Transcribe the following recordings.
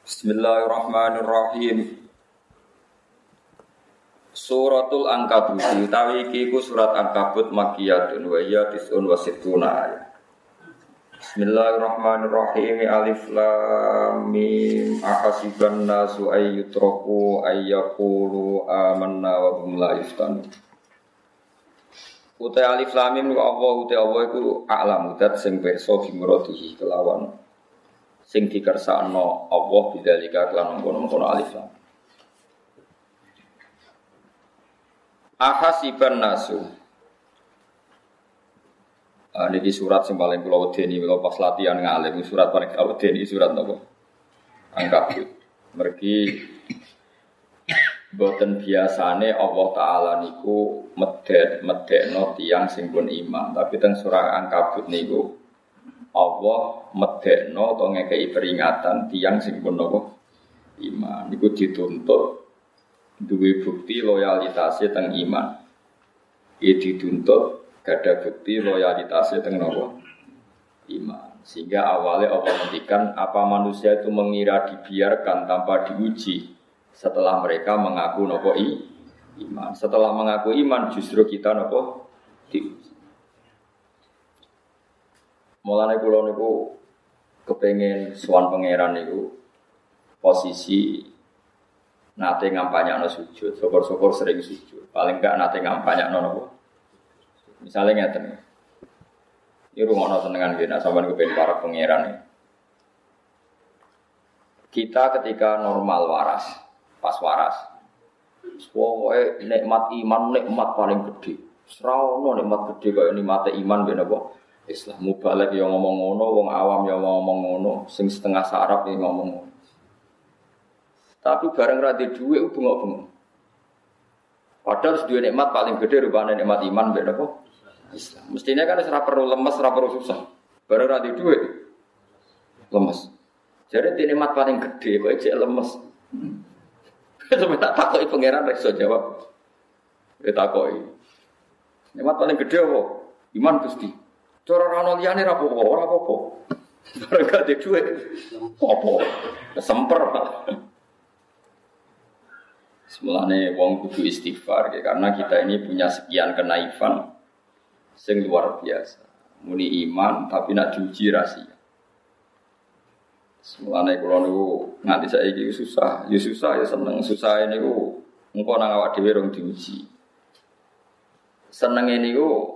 Bismillahirrahmanirrahim. Suratul Ankabut utawi iki ku surat Ankabut makkiyatun wa hiya tis'un wa sittuna ayat. Bismillahirrahmanirrahim. Alif lam mim. Ahasiban nasu ay yutraku ay yaqulu amanna wa hum la yuftanun. Utai alif lam mim Allah iku a'lamu dat sing pirsa bimrodihi kelawan sing dikersakno Allah bidzalika kelan mengkono alif lam. Ahasiban nasu. Niki surat sing paling kula wedeni kula pas latihan ngalim surat paling kula wedeni surat napa? Ankabut. Mergi boten biasane Allah taala niku medekno tiyang sing pun iman, tapi teng surah Ankabut niku Allah medekno atau ngekei peringatan tiyang sing pun napa iman niku dituntut duwe bukti loyalitasnya teng iman. Iki dituntut gada bukti loyalitasnya teng napa iman. Sehingga awalnya Allah ngendikan apa manusia itu mengira dibiarkan tanpa diuji setelah mereka mengaku napa iman. Setelah mengaku iman justru kita napa diuji. Mulane kula niku kepengin sowan pangeran niku posisi nate ngampanyakno sujud, syukur-syukur sering sujud. Paling enggak nate ngampanyakno napa. Misale ngeten. Iki rumono senengan nggih nek sampeyan kepengin para pangeran. Kita ketika normal waras, pas waras. Pokoke nikmat iman nikmat paling gede. Ora ono nikmat gede kaya nikmate iman ben apa? Islam mubalek ya ngomong ngono, wong awam ya ngomong ngono, sing setengah sarap ya ngomong ngono. Tapi bareng ra di dhuwit ku bengok-bengok. Padahal duwe nikmat paling gede rupane nikmat iman ben apa? Islam. Mestinya kan ora perlu lemes, ora perlu susah. Bareng ra di dhuwit lemes. Jadi nikmat paling gede kok ejek lemes. Sampe tak takoki pangeran rek iso jawab. Takoki. Nikmat paling gede apa? Iman Gusti. Cara ana liyane ra apa-apa, ora apa-apa. Bareng gak di dhuwit. Apa? Kesemper. Semulane wong kudu istighfar ya, karena kita ini punya sekian kenaifan sing luar biasa. Muni iman tapi nak diuji rahasia. Semulane kula niku nganti saiki susah ya seneng. Susah niku engko nang awak dhewe rong diuji. Senenge niku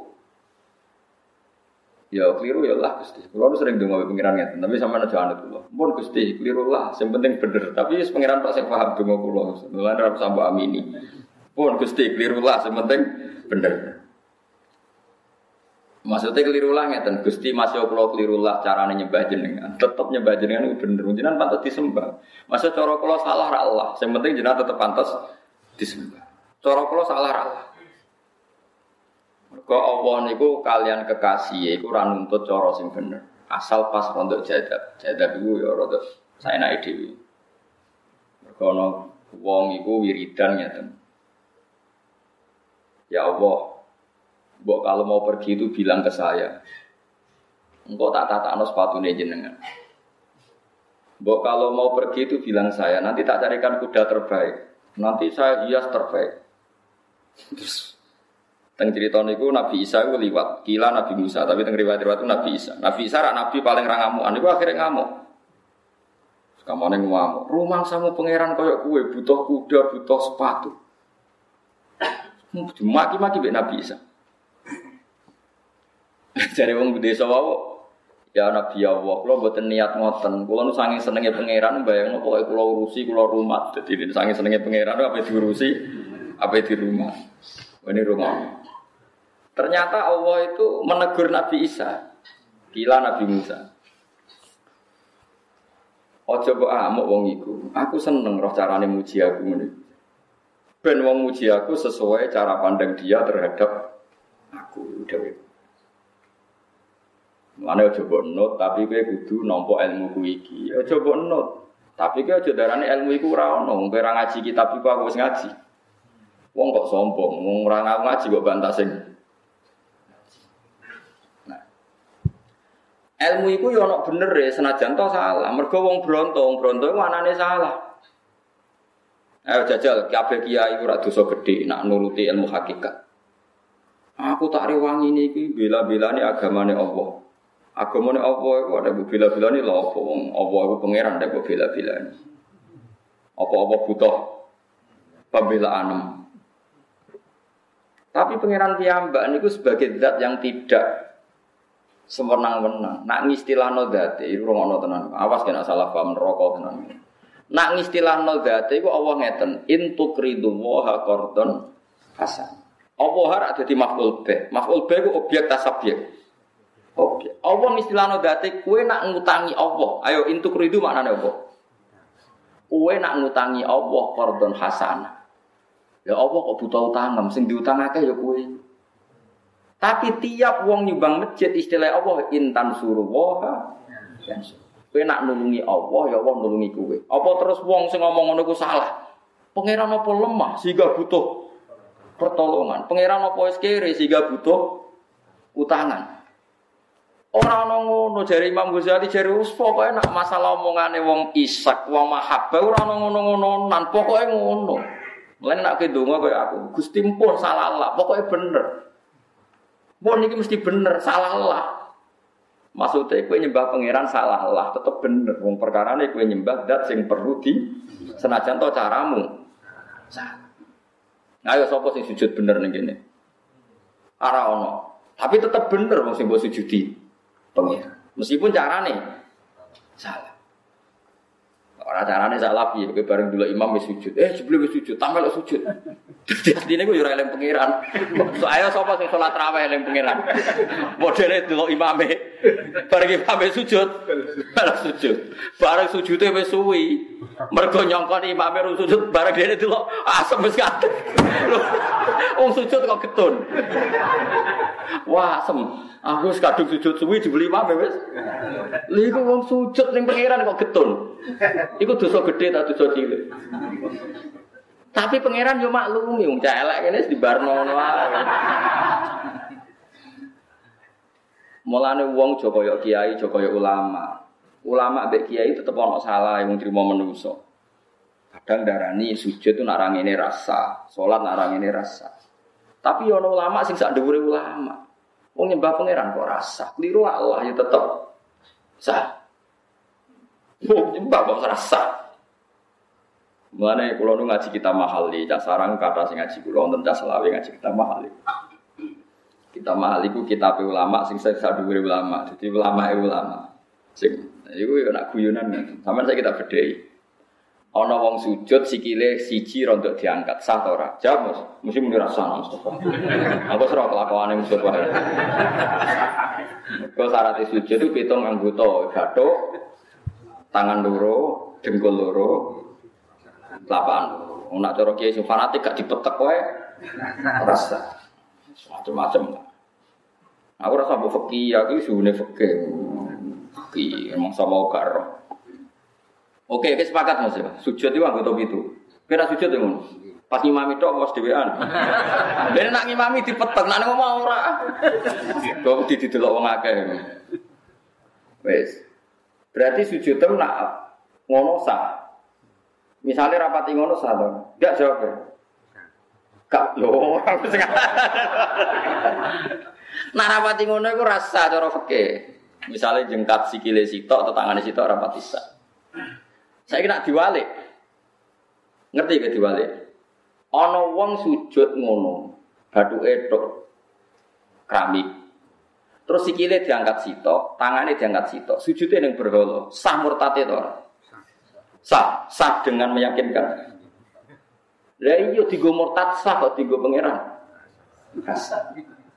ya keliru ya lah Gusti. Kula sering ndonga pengiran ngeten, tapi sampeyan aja anut kula. Mumpun Gusti, keliru lah, sing penting bener. Tapi wis pengiran tok sing paham donga kula. Mulane ora usah mbok amini. Mumpun Gusti, keliru lah, sing penting bener. Maksudnya keliru lah ngeten, Gusti masih kula keliru lah carane nyembah jenengan. Tetep nyembah jenengan itu bener. Jenengan pantes disembah. Maksud cara kula salah ra Allah, sing penting jenengan tetep pantes disembah. Cara kula salah ra Allah. Mergo Allah niku kalian kekasih iku ora nuntut cara sing bener. Asal pas rontok jadab. Jadab iku ya rada saenake dhewe. Mergo ana wong iku wiridan ngeten. Ya Allah, mbok kalau mau pergi itu bilang ke saya. Engkau tak tatakno sepatune jenengan. Mbok kalau mau pergi itu bilang saya, nanti tak carikan kuda terbaik. Nanti saya hias terbaik. Terus teng cerita niku Nabi Isa iku liwat, kila Nabi Musa, tapi teng riwayat-riwayat itu Nabi Isa. Nabi Isa rak nabi paling ra ngamukan niku akhirnya ngamuk. Kamane ngamuk. Rumangsamu pangeran koyo kowe butuh kuda, butuh sepatu. Maki-maki mbek Nabi Isa. Jare wong desa wae, ya Nabi Allah, kula mboten niat ngoten. Kula nu saking senenge pangeran mbayangno pokoke kula urusi, kula rumat. Dadi saking senenge pangeran apa diurusi, apa di rumah. Ini rumah. Ternyata Allah itu menegur Nabi Isa. Kila Nabi Musa. Ojo kok amuk wong iku. Aku seneng roh carane muji aku ngene. Ben wong muji aku sesuai cara pandang dia terhadap aku dhewe. Mane ojo mbok nut tapi kowe kudu nampa ilmuku iki. Ojo mbok nut. Tapi kowe aja darane ilmu iku ora ono. Kowe ora ngaji kitab iku aku wis ngaji. Wong kok sombong, wong ora ngaji kok bantah sing. Nah. Ilmu iku yo ana bener e senajan to salah. Mergo wong bronto iku anane salah. Ayo jajal kabeh kiai ora dosa gedhe nak nuruti ilmu hakikat. Aku tak rewangi niki bela-belani agamane Allah. Agamane Allah iku ada bela-belani lha apa wong Allah iku pangeran ndak bela-belani. Apa-apa butuh pembelaan. Tapi pangeran piyambak niku sebagai zat yang tidak sewenang-wenang. Nak ngistilahno zate iku rungono tenan. Awas kena salah paham neraka tenan. Nak ngistilahno zate iku Allah ngeten, in tuqridu wa qardon hasan. Allah ora dadi maf'ul bih. Maf'ul bih iku objek tasabyek. Objek. Allah ngistilahno zate kowe nak ngutangi Allah. Ayo in tuqridu maknane apa? Kowe nak ngutangi Allah qardon hasan. Ya Allah kok butuh utang, sing diutangake ya kowe. Tapi tiap wong nyumbang masjid istilah Allah intan suruh waha. Kowe nak nulungi Allah ya Allah nulungi kowe. Apa terus wong sing ngomong ngono ku salah? Pangeran apa lemah sehingga butuh pertolongan? Pangeran apa wis kere sehingga butuh utangan? Ora ana ngono jare Imam Ghazali jare wis pokoke nak masalah omongane wong isak, wong mahabbah ora ana ngono-ngononan, pokoke ngono. Lan nek ndonga koyo aku, Gusti mpun salah Allah, pokoke bener. Mbon iki mesti bener, salah Allah. Maksudnya kowe nyembah pangeran salah Allah, tetep bener. Wong perkarane kowe nyembah zat sing perlu di senajan to caramu. Ayo sapa sing sujud bener ning kene? Ora ono. Tapi tetep bener wong sing mbok sujudi pangeran. Meskipun carane salah. Ora carane salah piye kowe bareng dulu imam wis sujud. Jebule wis sujud, tampil sujud. Dadi atine ku yo ora eling pangeran. So ayo sapa sing salat tarawih eling pangeran. Modele dulu imame. Bareng imame sujud, bareng sujud. Bareng sujude wis suwi. Mergo nyongkon imame ru sujud bareng dene dulu asem wis kadek. Wong sujud kok getun. Wah, asem. Aku wis kadung sujud suwi dibeli imame wis. Lha iku wong sujud ning pangeran kok getun. Iku dosa gede tak dosa cilik. Tapi pangeran yo maklumi wong cah elek kene dibarno ngono wae. Mulane wong aja kaya kiai, aja kaya ulama. Ulama mbek kiai tetep ana salah wong trimo menungso. Kadang darani sujud itu nak ra ngene rasa, salat nak ra ngene rasa. Tapi yo ana ulama sing sak dhuwure ulama. Wong nyembah pangeran kok rasa, kliru Allah ya tetep sah. Wong nyembah kok rasa. Mulane kula nu ngaji kita mahali, cak sarang kata sing ngaji kula wonten cak selawe ngaji kita mahali. Kita mahali ku kitab ulama sing sak dhuwure ulama. Dadi ulama. Sing iku yo nak guyonan. Sampeyan saya kita bedhei. Ana wong sujud sikile siji rontok diangkat sah ta ora? Jawab mesti muni rasa Mustafa. Aku serah kelakuane Mustafa. Kok syarat sujud itu pitung anggota, gathuk, tangan loro, dengkul loro, telapak loro. Nak cara kiai sing fanatik gak dipetek wae rasa. Macam-macam. Aku rasa mbok fikih, aku suune fikih. Fikih emang sama karo. Oke, sepakat Mas. Sujud itu anggota itu. Kira sujud ngono. Pas ngimami tok mos dhewean. Dene nak ngimami dipetek, nak ngomong ora. Kok didelok wong akeh. Wis. Berarti sujud tem nak ngono sah. Misale rapati ngono sah to. Enggak jawab. Kak lho, aku sing. Nak rapati ngono iku rasa cara fikih. Misale jengkat sikile sitok atau tangane sitok rapati sah. Saya kena diwalik. Ngerti ke diwalik? Ana wong sujud ngono, bathuke tok keramik. Terus sikile diangkat sitok, tangane diangkat sitok, sujude ning berhala. Sah murtate to ora? Sah dengan meyakinkan. Lah iya digo murtad sah kok digo pangeran. Sah.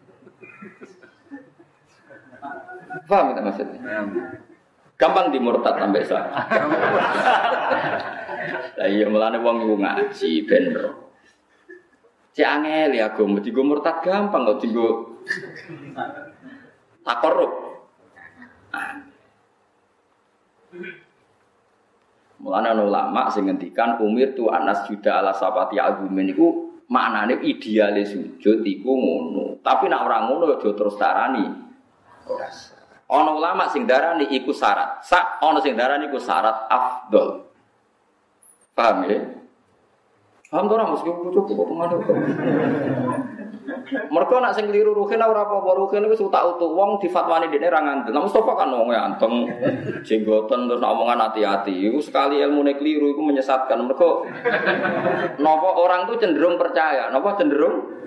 Paham tak maksudnya? Gampang dimurtad sampai sah. Lah iya mulane wong iku ngaji ben ro. Cek angel ya agama digo murtad gampang kok digo takorup. Mulane ana ulama sing ngendikan umir tu anas juda ala sapati agumen iku maknane ideale sujud iku ngono. Tapi nek ora ngono aja terus tarani. Ora. Ana ulama sing darani iku syarat. Ana sing darani iku syarat afdol. Paham ya? Paham to ora mesti cukup kok pengaruh. Mergo nak sing kliru ruhin ora apa-apa ruhin wis utak-utuk wong difatwani dekne ra ngandel. Nah Mustofa kan wong anteng jenggoten terus omongan hati-hati. Iku sekali ilmune kliru iku menyesatkan. Mergo napa orang tuh cenderung percaya, napa cenderung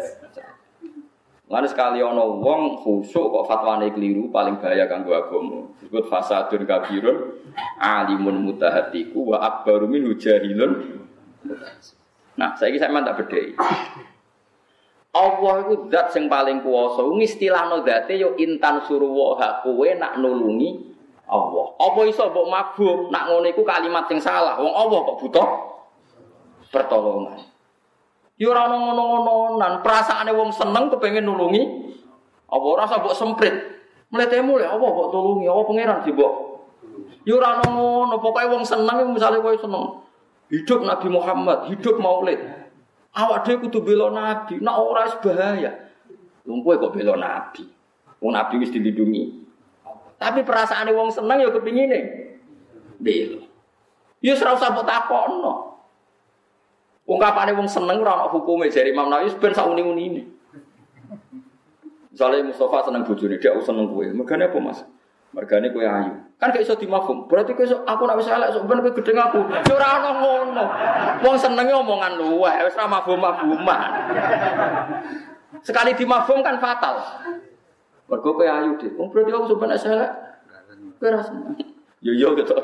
lan sekali ana wong khusuk kok fatwane keliru paling bahaya kanggo agama. Disebut fasadun kabirun alimun mutahatiku wa akbaru min jahilun. Nah, saiki sampeyan tak bedheki. Allah iku zat sing paling kuwasa. Ngistilahno zate yo intan suruwa kowe nak nulungi Allah. Apa iso mbok mabum nak ngono iku kalimat sing salah. Wong Allah kok butuh pertolongan. Ya ora ono ngono-ngononan, perasaane wong seneng kepengin nulungi. Apa ora usah mbok semprit. Mletemu lho apa mbok tulungi, apa pangeran sih mbok. Ya ora ono ngono, pokoke wong seneng misale kowe seneng. Hidup Nabi Muhammad, hidup Maulid. Awak dhewe kudu bela Nabi, nek ora wis bahaya. Wong kowe kok bela Nabi. Wong Nabi wis dilindungi. Tapi perasaane wong seneng ya kepingine bela. Ya ora usah mbok takokno. Ungkapane wong seneng ora ana hukume jare Imam Nawawi ben sak uni-unine. Misale Mustafa seneng bojone, dia seneng kowe. Mergane apa, Mas? Mergane kowe ayu. Kan gak iso dimafhum. Berarti kowe aku nek wis elek sok ben kowe gedeng aku. Ya ora ana ngono. Wong senenge omongan luweh, wis ora mafhum-mafhuman. Sekali dimafhum kan fatal. Mergo kowe ayu, Dik. Wong berarti aku sok ben elek. Kowe ora seneng. Yo gitu.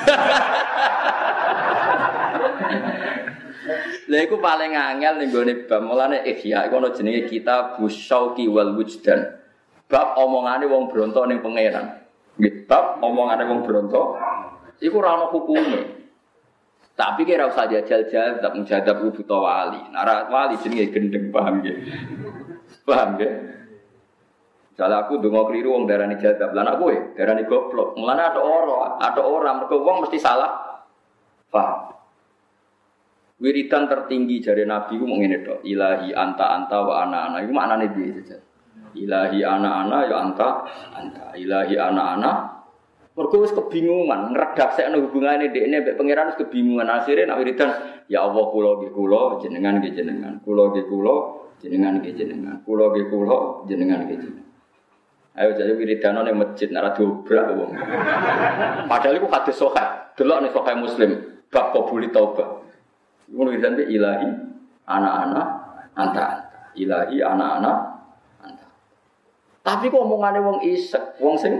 Lha iku paling angel ning gone bab mulane ihya iku ana jenenge kitab Busyauqi wal Wujdan. Bab omongane wong bronto ning pangeran. Nggih, bab omongane wong bronto iku ora ana hukume. Tapi kira usah jajal-jajal tak menjadab buta wali. Nek wali jenenge gendeng paham nggih. Paham nggih? Salah aku ndonga kliru wong darani jadab. Lah anak kowe darani goblok. Mulane ada orang mergo wong mesti salah. Paham? Wiridan tertinggi jari Nabi ku mung ngene tok. Ilahi anta wa ana. Iku maknane piye saja. Ilahi ana ya anta. Ilahi ana. Mergo wis kebingungan, ngredaksekno hubungane dekne mbek pangeran wis kebingungan. Akhire nek wiridan ya Allah kula nggih kula, jenengan nggih jenengan. Kula nggih kula, jenengan nggih jenengan. Kula nggih kula, jenengan nggih jenengan. Ayo jare wiridan ning masjid nek ora dobrak wong. Padahal iku hadis sahih. Delok ning sahih Muslim bab qabuli taubah. Ngono wiridan be ilahi ana anta. Ilahi ana anta. Tapi kok omongane wong isek, wong sing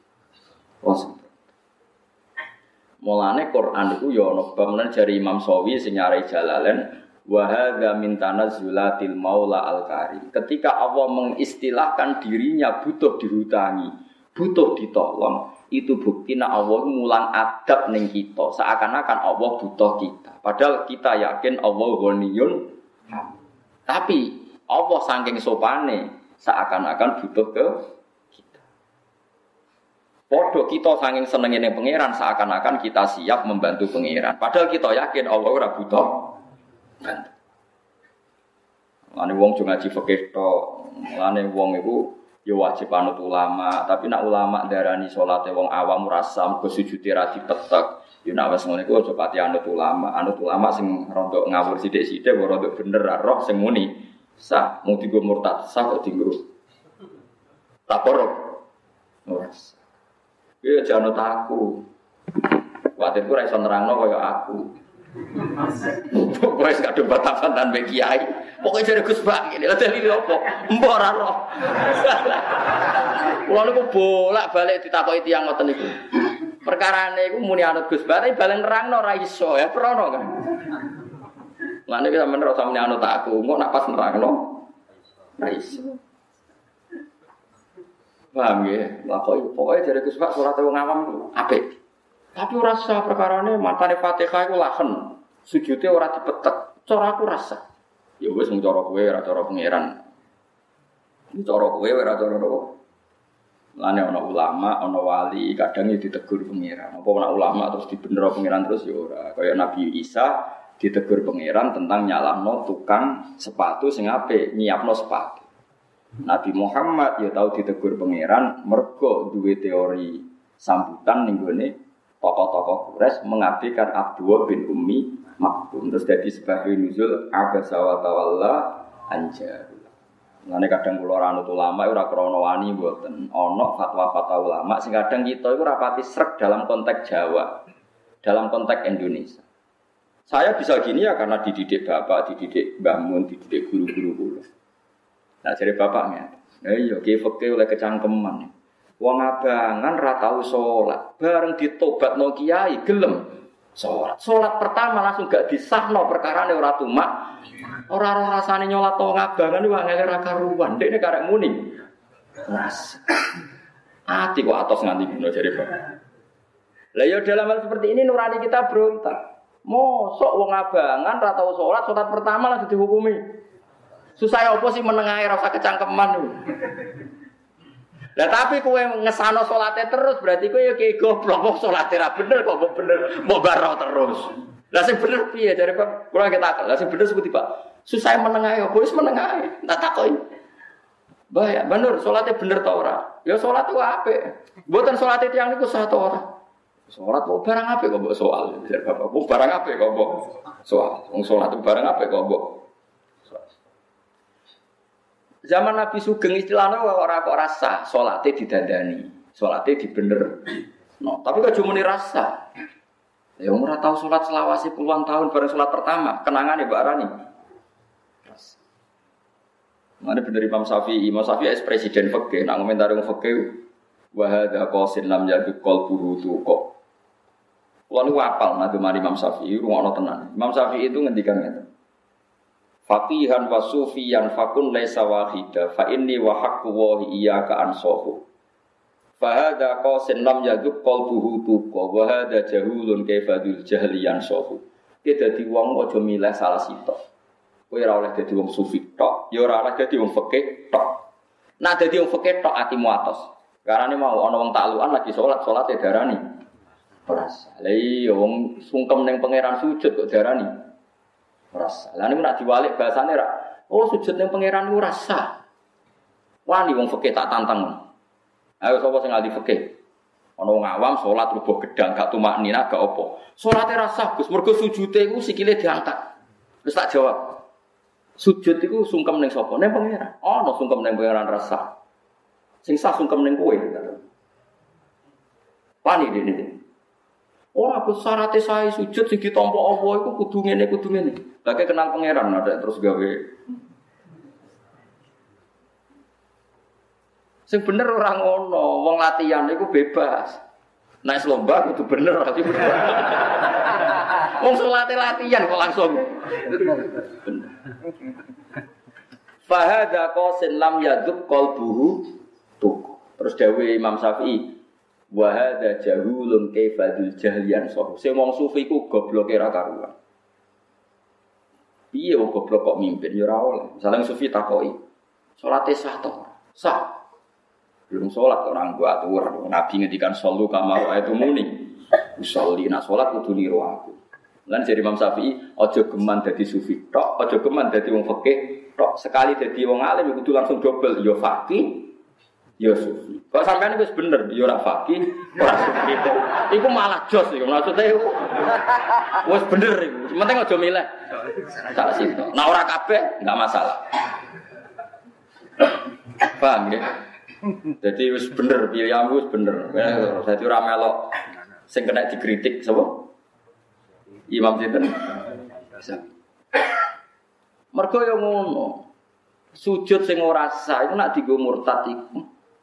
mulane Quran iku ya ana bab jari Imam Sawi sing nyarai Jalalain wa hadza min tanazzulatil maula al-karim. Ketika Allah mengistilahkan dirinya butuh dihutangi, butuh ditolong, itu bukti nek Allah mulang adab ning kita, seakan-akan Allah butuh kita. Padahal kita yakin Allah ghaniyun. Tapi Allah saking sopane seakan-akan butuh ke kita. Padha kita saking senenge ning pangeran seakan-akan kita siap membantu pangeran. Padahal kita yakin Allah ora butuh bantu. Lane wong jo ngaji fikih tok. Lane wong iku ya wajib anut ulama, tapi nek ulama darani salate wong awam ora sah mergo sujute ra dipetek. Ya nek wis ngono iku aja pati anut ulama sing rondok ngawur sithik-sithik ora rondok bener roh sing muni. Sah mung dienggo murtad, sah kok dienggo. Tak korup. Ora. Ya jangan anut aku. Kuwatirku ora iso nerangno kaya aku. Pokoke gak ada batasan mbek kiai. Pokoke jare Gus Bak ngene. Lah dalile opo? Mbok ora roh. Kulo niku bolak-balik ditakoki tiyang ngoten niku. Perkarane iku muni anut Gus Bak, tapi balen nerangno ora iso ya prono kan. Lah nek sampeyan ora sampe anut aku, engko nak pas nerangno ora iso. Paham ya? Lah pokoke jare Gus Bak surate wong awam apik. Tapi ora sah perkarane matane Fatihah iku lahen. Sujude ora dipetek. Cara aku rasa. Ya wis mung cara kowe ora cara pangeran. Iki cara kowe ora cara apa. Lane ana ulama, ana wali, kadang ditegur pangeran. Apa ana ulama terus dibener pangeran terus ya ora. Kaya Nabi Isa ditegur pangeran tentang nyalahno tukang sepatu sing apik, nyiapno sepatu. Nabi Muhammad ya tahu ditegur pangeran mergo duwe teori sambutan ning gone tokoh-tokoh Quraisy mengabdikan Abdullah bin Ummi Maktum terus jadi sebab nuzul abasa wa tawalla anja. Ngene kadang kula ora anut ulama ora krana wani mboten. Ana fatwa-fatwa ulama sing kadang kita iku rapati srek dalam konteks Jawa, dalam konteks Indonesia. Saya bisa gini ya karena dididik bapak, dididik Mbah Mun, dididik guru-guru kula. Nah jadi bapaknya, iya fikih oleh kecangkeman. Wong abangan ra tau salat, bareng ditobatno kiai gelem salat. Salat pertama langsung gak disahno perkarane ora tumak. Ora rasane nyolat wong abangan iku angel ra karuan. Dekne karek muni. Ras. Ati kok atos nganti dino jare bapak. Lah ya dalam hal seperti ini nurani kita berontak. Mosok wong abangan ra tau salat pertama langsung dihukumi. Susah apa sih menengahi rasa kecangkeman itu. Lah tapi kowe ngesano salate terus berarti kowe ya ki goblok kok salate ra bener kok bener mau baro terus. Lah sing bener piye jare Pak? Kula kita akal. Lah sing bener seperti Pak. Susah menengahi apa wis menengahi. Tak takoki. Mbah ya bener salate bener ta ora? Ya salat ku apik. Mboten salate tiyang niku sah ta ora? Salat kok barang apik kok mbok soal jare Bapak. Kok barang apik kok mbok soal. Wong salat ku barang apik kok mbok zaman Nabi Sugeng istilahnya orang kok rasa solatnya didandani, solatnya dibener. No, tapi kok cuma rasa. Ya umur tahu solat selawasi puluhan tahun baru solat pertama, kenangan ya Mbak Rani. Mana bener Imam Syafi'i es presiden fikih, nak komentari wong fikih, wahada qasin lam yaduk qalbuhu tuqa. Kulo apal nate mari Imam Syafi'i rungono tenan. Imam Syafi'i itu ngendikan ngene. Faqihan wa sufiyan fakun laisa wahida fa inni wa haqqu wa iyyaka ansahu fa hadza qasin lam yaduk qalbuhu tuqa wa hadza jahulun kaifadul jahliyan sahu. Ki dadi wong aja milih salah sitok. Kowe ora oleh dadi wong sufi tok, ya ora oleh dadi wong fikih tok. Nek dadi wong fikih tok atimu atos. Karane mau ana wong taklukan lagi salate darani. Ora salah. Lah iya wong sungkem ning pangeran sujud kok darani. Rasa. Lah niku nak diwalik bahasane ra. Oh sujud ning pangeran niku rasa. Wani wong fikih tak tantang. Ayo sapa sing ahli fikih? Ana wong awam salat rubuh gedang gak tumak nina gak apa. Salate rasa Gus mergo sujude iku sikile diangkat. Terus tak jawab. Sujud iku sungkem ning sapa? Ning pangeran. Ana sungkem ning pangeran rasa. Sing sah sungkem ning kowe. Wani dene. Ora besarate sae sujud sing ditampa Allah iku kudu ngene. Lagi kenal pangeran ada terus gawe. Sing bener ora ngono, wong latihan iku bebas. Nek lomba kudu bener tapi bener. Wong salate latihan kok langsung. Bener. Fa hadza qasin lam yaduk qalbuhu tuq. Terus dawuh Imam Syafi'i wa hadza jahulun kaifadul jahliyan sahu. Sing wong sufi ku gobloke ra karuan. Piye wong goblok kok mimpin ya ora oleh. Misale sufi takoki, salate sah to? Sah. Belum salat orang gua atur. Nabi ngendikan sallu kama itu muni. Usolli nak salat kudu niru aku. Lan jadi Imam Syafi'i aja geman dadi sufi tok, aja geman dadi wong fikih tok. Sekali dadi wong alim kudu langsung dobel ya faqih ya sufi. Kok sampean wis bener ya ora faqih, ora sufi. Iku malah jos iku maksude wis bener iku. Penting aja milih. Salah situ. Nah ora kabeh enggak masalah. Paham ya? Jadi wis bener pilihanmu wis bener. Dadi ora melok sing kena dikritik sapa? Imam sinten? Mergo yo ngono. Sujud sing ora sah iku nek dienggo murtad iku.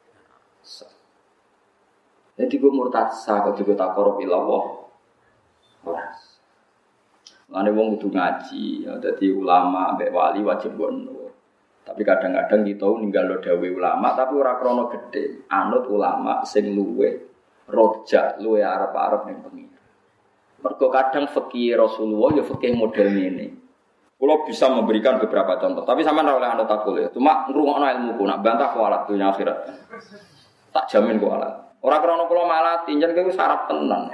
Jadi gue murtad sah kok digo takorup ilallah. Ora. Lane wong kudu ngaji, ya dadi ulama mbek wali wajib ngono. Tapi kadang-kadang kita ninggalo dawuh ulama tapi ora krana gedhe. Anut ulama sing luweh rojak, luweh arep-arep ning pengira. Mergo kadang fikih Rasulullah ya fikih model ngene. Kula bisa memberikan beberapa contoh, tapi sampean ora oleh anut aku ya. Cuma ngrungokno ilmuku, nak bantah kualat dunya akhirat. Tak jamin kualat. Ora krana kula malah tinjen kuwi sarap tenan.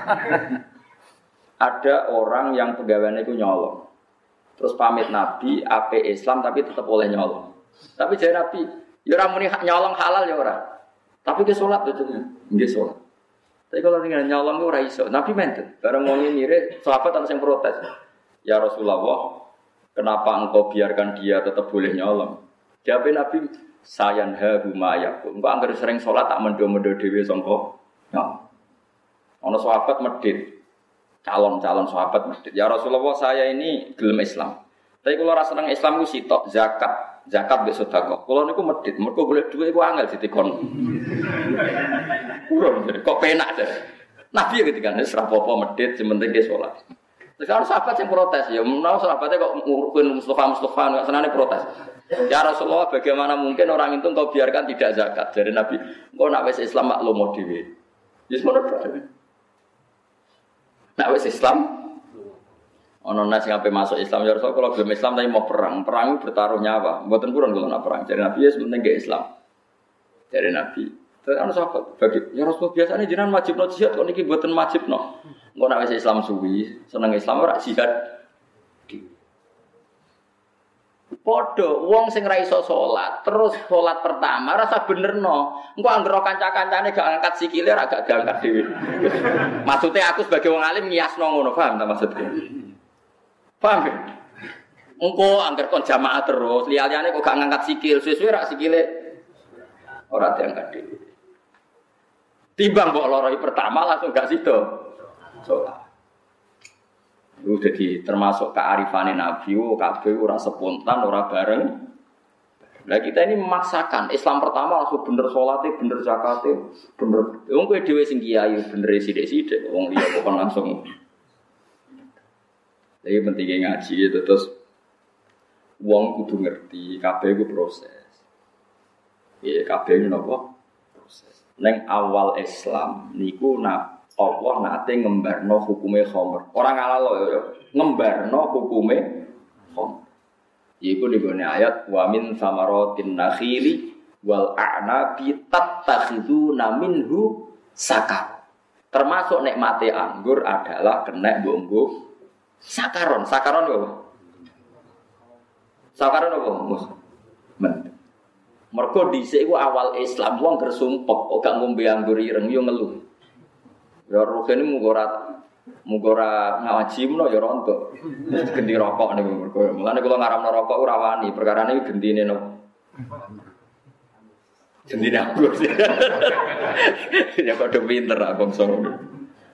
Ada orang yang pegawainya itu nyolong. Terus pamit Nabi, AP Islam tapi tetap boleh nyolong. Tapi jadi Nabi, Ya ora muni nyolong halal ya ora. Tapi ke salat betulnya, nggih salat. Tapi kalau dengan nyolong itu ora iso. Nabi menten, bareng ngomong mirip, sahabat ana sing protes. Ya Rasulullah, kenapa engkau biarkan dia tetap boleh nyolong? Jawab Nabi, sayanha huma yakul. Engkau anggar sering salat tak mendo-mendo dhewe sangka nyolong. Ana sahabat medhit. Calon-calon sahabat medhit. Ya Rasulullah, saya ini gelem Islam. Tapi kalau rasa seneng Islam itu sitok zakat mbek sedekah. Kalau niku medhit, mergo golek dhuwit iku angel ditikon. Kurang kok penak deh. Nabi ya ketika nek apa-apa medhit sementing dia salat. Terus ana sahabat yang protes, ya menawa sahabatnya kok ngurukin Mustafa enggak senane protes. Ya Rasulullah, bagaimana mungkin orang itu engkau biarkan tidak zakat? Dari Nabi, engkau nak wis Islam maklum dhewe. Ya semono dhewe. Nak wis Islam ono nasi sampai masuk Islam ya Rasul kalau belum Islam tapi mau perang itu bertaruh nyawa. Mboten purun kalau nak perang. Jadi Nabi ya sementing gak Islam. Dari Nabi. Terus ana sahabat bagi ya Rasul biasanya jenengan wajibno jihad kok niki mboten wajibno. Engko nak wis Islam suwi, seneng Islam ora jihad. Padha wong sing ra iso salat, terus salat pertama rasa benerno. Engko anggere kanca-kancane gak angkat sikile ora gak diangkat dhewe. Maksudnya aku sebagai wong alim ngiasno ngono, paham ta maksudnya? Paham ya? Engko angger kon jamaah terus, liyane kok gak ngangkat sikil, suwe-suwe rak sikile ora diangkat dhewe. Timbang mbok loroi pertama langsung gak sido. Salat. Itu jadi termasuk kearifane Nabi, kabeh ora spontan, ora bareng. Lah kita ini memaksakan Islam pertama langsung bener salate, bener zakate, bener. Wong kowe dhewe sing kiai bener sithik-sithik, wong liya kok langsung. Jadi pentingnya ngaji itu terus wong kudu ngerti kabeh iku proses. Ya kabeh niku napa? Proses. Neng awal Islam niku Allah nate ngembarno hukume khamr. Ora ngalalo ya, ngembarno hukume khamr. Iku digone ayat wa min samaratin nakhili wal a'nabi tattakhiduna minhu sakar. Termasuk nikmate anggur adalah kena mbok Sakaron apa? Sakaron apa? Mergo dhisik iku awal Islam wong gersumpek kok gak ngombe anggur ireng yo ngeluh. Ya rukene muga ora ngaji menawa ya rontok. Gendi rokok niku mergo. Mulane kula ngaramno rokok ora wani, perkarane iki gendine no. Gendine anggur. Ya padha pinter ah bangsa ngono.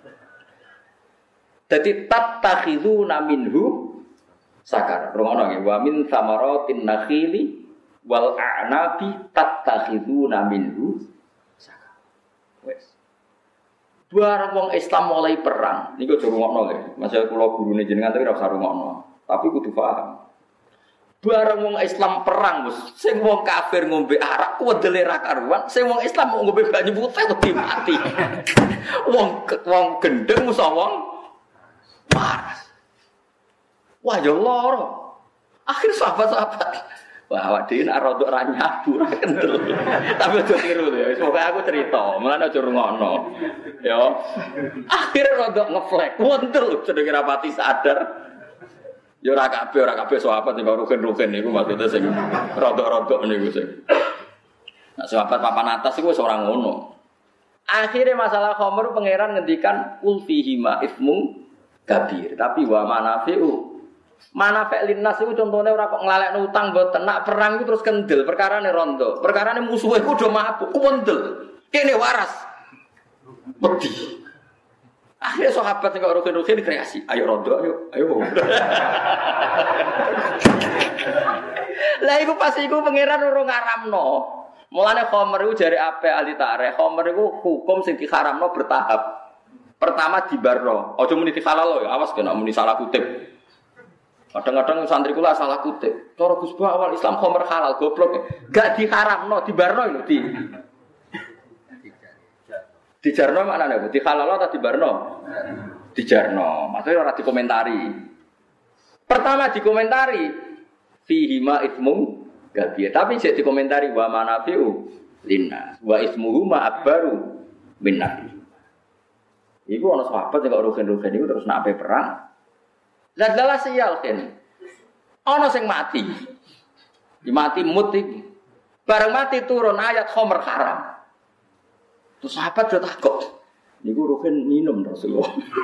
Jadi tattakhiduna minhu sakar. Rungono nggih wa min samaratin nakhili wal a'nabi tattakhiduna minhu sakar. Wes. Barang wong Islam mulai perang, niku aja rungokno nggih. Masih kula gurune jenengan tapi ora usah rungokno. Tapi kudu paham. Barang wong Islam perang, Gus. Sing wong kafir ngombe arak wedele ra karuan, sing wong Islam mau ngombe banyu putih wedi mati. Wong gendeng musa wong waras. Wah ya loro. Akhir sahabat-sahabat. Wah awak dhewe nek rodok ra nyabu ra kendel. Tapi aja tiru ya. Wis pokoke aku cerita, mulane aja rungokno. Ya. Akhir rodok ngeflek. Wontel sedeng rapati sadar. Ya ora kabeh sahabat sing rugen-rugen niku maksudnya sing rodok-rodok niku sing. Nek sahabat papan atas iku wis ora ngono. Akhire masalah khamr pangeran ngendikan kul fihi ma ismu kabir, tapi wa manafi' linnas itu contohnya ora kok nglalekno utang mboten nak perang itu terus kendel perkarane rondo. Perkarane musuhe ku do mabuk kuwendel. Kene waras. Wedi. Akhirnya sahabat sing kok rugen-rugen kreasi. Ayo rondo ayo. Lah iku pas iku pangeran ora ngaramno. Mulane khamr iku jare apik ahli tarikh. Khamr iku hukum sing diharamno bertahap. Pertama dibarno, aja muni dihalal ya, awas kena muni salah kutip. Kadang-kadang santri kula salah kutip. Cara Gus Ba awal Islam khamr halal goblok. Gak diharamno, dibarno lho di. Dijarno maknane apa? Dihalal atau dibarno? Dijarno. Maksudnya ora dikomentari. Pertama dikomentari fihi ma ismum kabir. Tapi jek dikomentari wa manafi'u linnas wa ismuhu ma akbaru min nafi. Iku ana sahabat sing kok rugen-rugen iku terus nak ape perang. Lah dalah sial kan. Ana sing mati. Dimati mut iki. Bareng mati turun ayat khamr haram. Terus sahabat do takut. Niku Ruhin minum Rasulullah.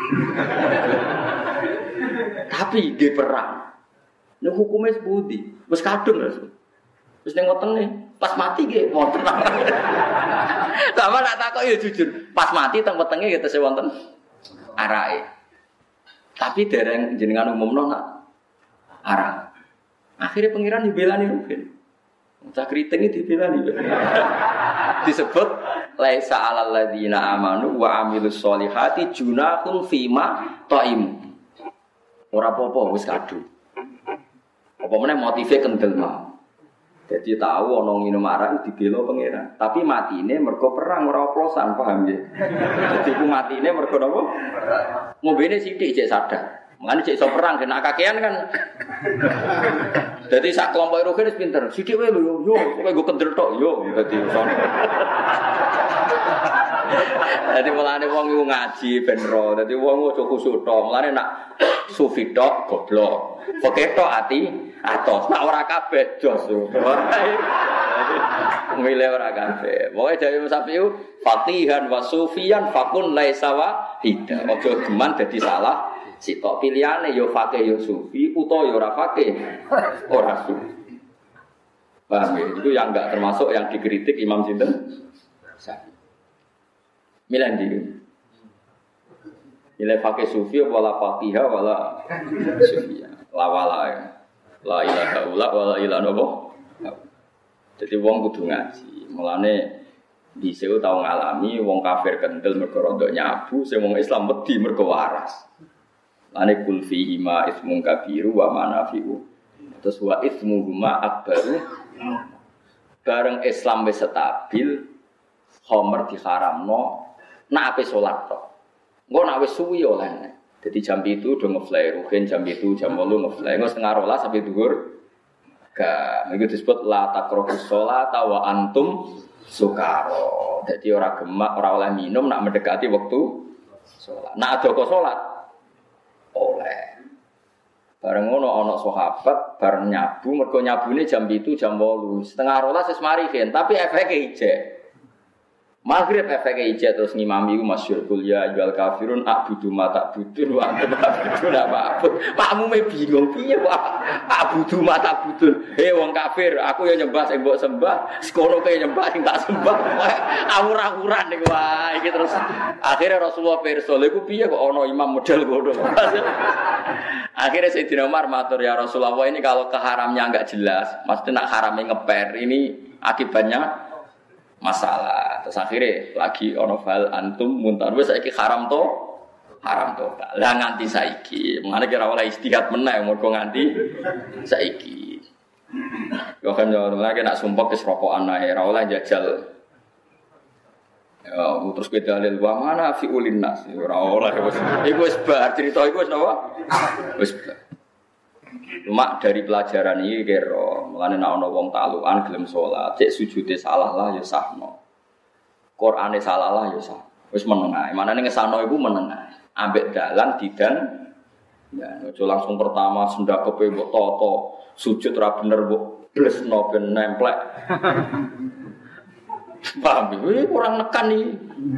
Tapi di perang. Nek hukume sepundi? Wis kadung Rasul. Wis ning wetenge, pas mati nggih wonten. Sama nak takok ya jujur, pas mati teng wetenge ya tesih wonten arake. Tapi dereng jenengan umumno nak arah. Akhirnya pangeran dibelani Ruhin. Cak kriting iki dibelani. Disebut laisa 'alal ladzina amanu wa 'amilus sholihati junahun fima ta'im. Ora apa-apa wis kadung. Apa meneh motive kendel mah. Jadi tahu ana minum arak dibela pangeran. Tapi matine mergo perang ora oplosan, paham nggih? Jadi ku matine mergo napa? Ngombene sithik cek sadar. Mangane cek iso perang kena kakean kan. Dadi sak kelompok Ruhin wis pinter. Sithik wae lho yo, kowe nggo kendel tok yo dadi sono. Dadi mulane wong iku ngaji ben ro. Dadi wong aja khusuk tok. Mulane nak sufi tok goblok. Fikih tok ati atos. Nak ora kabeh jos. Milih ora kabeh. Pokoke dhewe Musafiu fatihan wa sufiyan fakun laisa wahida. Aja geman dadi salah. Sitok pilihane yo fakih yo sufi utawa yo ora fakih ora sufi. Paham ya? Itu yang enggak termasuk yang dikritik Imam sinten? Syafi'i. Milih ndi? Milih fakih sufi wala fakihah wala sufiyah. La wala ya. La ilaha illa wala ilaha illallah. Jadi wong kudu ngaji. Mulane dhisik tau ngalami wong kafir kendel mergo rodok nyabu, sing wong Islam wedi mergo waras. Ane kul fihi ma ismun kabiru wa manafi'u. Terus wa ismuhuma akbaru. Bareng Islam wis stabil, khamr diharamno, nak ape salat tok. Engko nak wis suwi oleh. Jadi jam itu udah ngefly, Ruhin jam itu jam 8 ngefly. Engko setengah 12 sampai dhuwur. Gak, itu disebut la taqrabus sholata wa antum sukara. Jadi ora gemak, ora oleh minum nak mendekati waktu salat. Nak ada kok salat oleh. Bareng ngono ana sahabat bareng nyabu, mergo nyabune jam 7 jam 8, setengah 12 wis mari kan, tapi efeke ijek. Maghrib efeke ijek terus ngimami ku masyhur kuliah jual kafirun abudu mata budun wa antum abudu apa. Makmume bingung piye kok abudu mata budun. Wong kafir, aku ya nyembah sing mbok sembah, sekono ke nyembah sing tak sembah. Awur-awuran niku wae iki terus. Akhirnya Rasulullah pirsa, lha iku piye kok ana imam model ngono. Akhirnya Sayyidina Umar matur ya Rasulullah, ini kalau keharamnya enggak jelas, maksudnya nak haramnya ngeper, ini akibatnya masalah. Terus akhirnya lagi ono fal antum muntar wis saiki haram to. Lah nganti saiki. Mengane kira oleh istihad meneh mergo nganti saiki. Yo kan yo lagi nak sumpah wis rokokan ae ora oleh jajal. Ya terus kita dalil wa mana fi ulinnas ora oleh wis. Iku wis bar cerita iku wis napa? Wis bar. Cuma dari pelajaran ini kira, mulane nek ana wong taklukan gelem salat, cek sujude salah lah ya sahno. Qur'ane salah lah ya sah. Wis meneng ae. Manane ngesano iku meneng ae. Ambek dalan didan ya aja langsung pertama sendakepe mbok toto, sujud ra bener mbok blesno ben nemplek. Paham iki kurang nekan iki.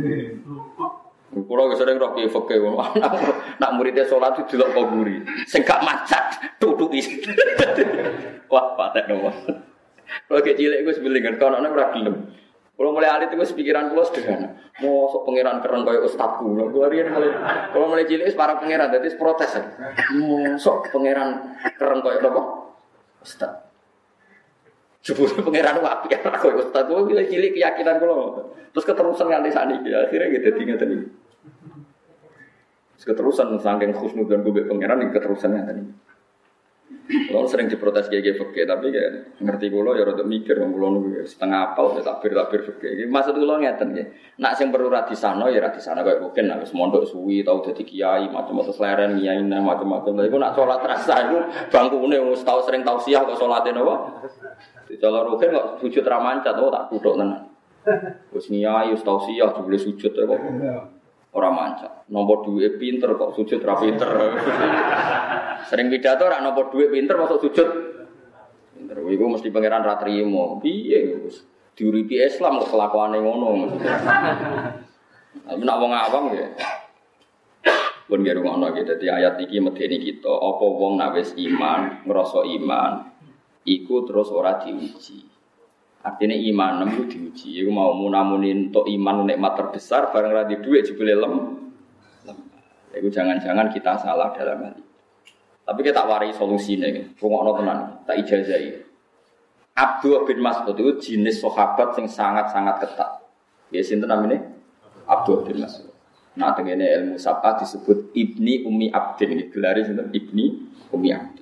Kulo wis sering roh ki fikih nak muridé salat itu delok kuburi. Sing gak macet tutuki. Wah, patek nopo. Kulo ki cilik iku sebelingan kono ora gelem. Kulo mulai alit iku pikiran kulo sederhana. Mosok pangeran keren koyo ustadku. Kulo riyen kulo mulai cilik wis para pangeran dadi protes. Mosok pangeran keren koyo apa? Ustad. Jebule pangeran apik koyo ustad kulo cilik keyakinan kulo. Terus keterusan nganti sakniki akhirnya gitu dadi ngeten iki. Keterusan saking khusnudzon gue pangeran iki keterusannya tadi. Kulo sering diprotes kiai fikih tapi kayak ngerti kulo ya rada mikir wong kulo niku setengah apal ya takbir fikih. Iki maksud kulo ngeten nggih. Nak sing perlu ra disano ya ra disano kaya mungkin nek wis mondok suwi tau dadi kiai macam-macam sleren kiai macam-macam. Lha iku nak salat rasa iku bangkune wis tau sering tausiah kok salate napa? Dicolor Ruhin kok sujud ra mancat tak kuthuk tenan. Wis kiai wis tausiah jebule sujud kok ora mancat. Nomor duwe pinter kok sujud ra pinter. Sering pidato ora nomor duwe pinter masuk sujud. bener. Iku mesti pangeran ra trimo. Piye Gus? Diuripi Islam kok kelakuane ngono. Nek wong awam ya. Pun nggih ngono iki dadi ayat iki medeni kita, apa wong nek wis iman, ngrasa iman, iku terus ora diuji. Artinya iman nemu diuji. Iku mau munamuni entuk iman nikmat terbesar bareng ra di dhuwit jebule lem. Iku jangan-jangan kita salah dalam hal ini. Tapi kita warai solusine, rungokno tenan, tak ijazahi. Abdullah bin Mas'ud itu jenis sahabat yang sangat-sangat ketat. Ya sinten namanya? Abdullah bin Mas'ud. Nah, tengene ilmu sab'ah disebut Ibni Ummi Abdin. Gelare sinten? Ibni Ummi Abdin.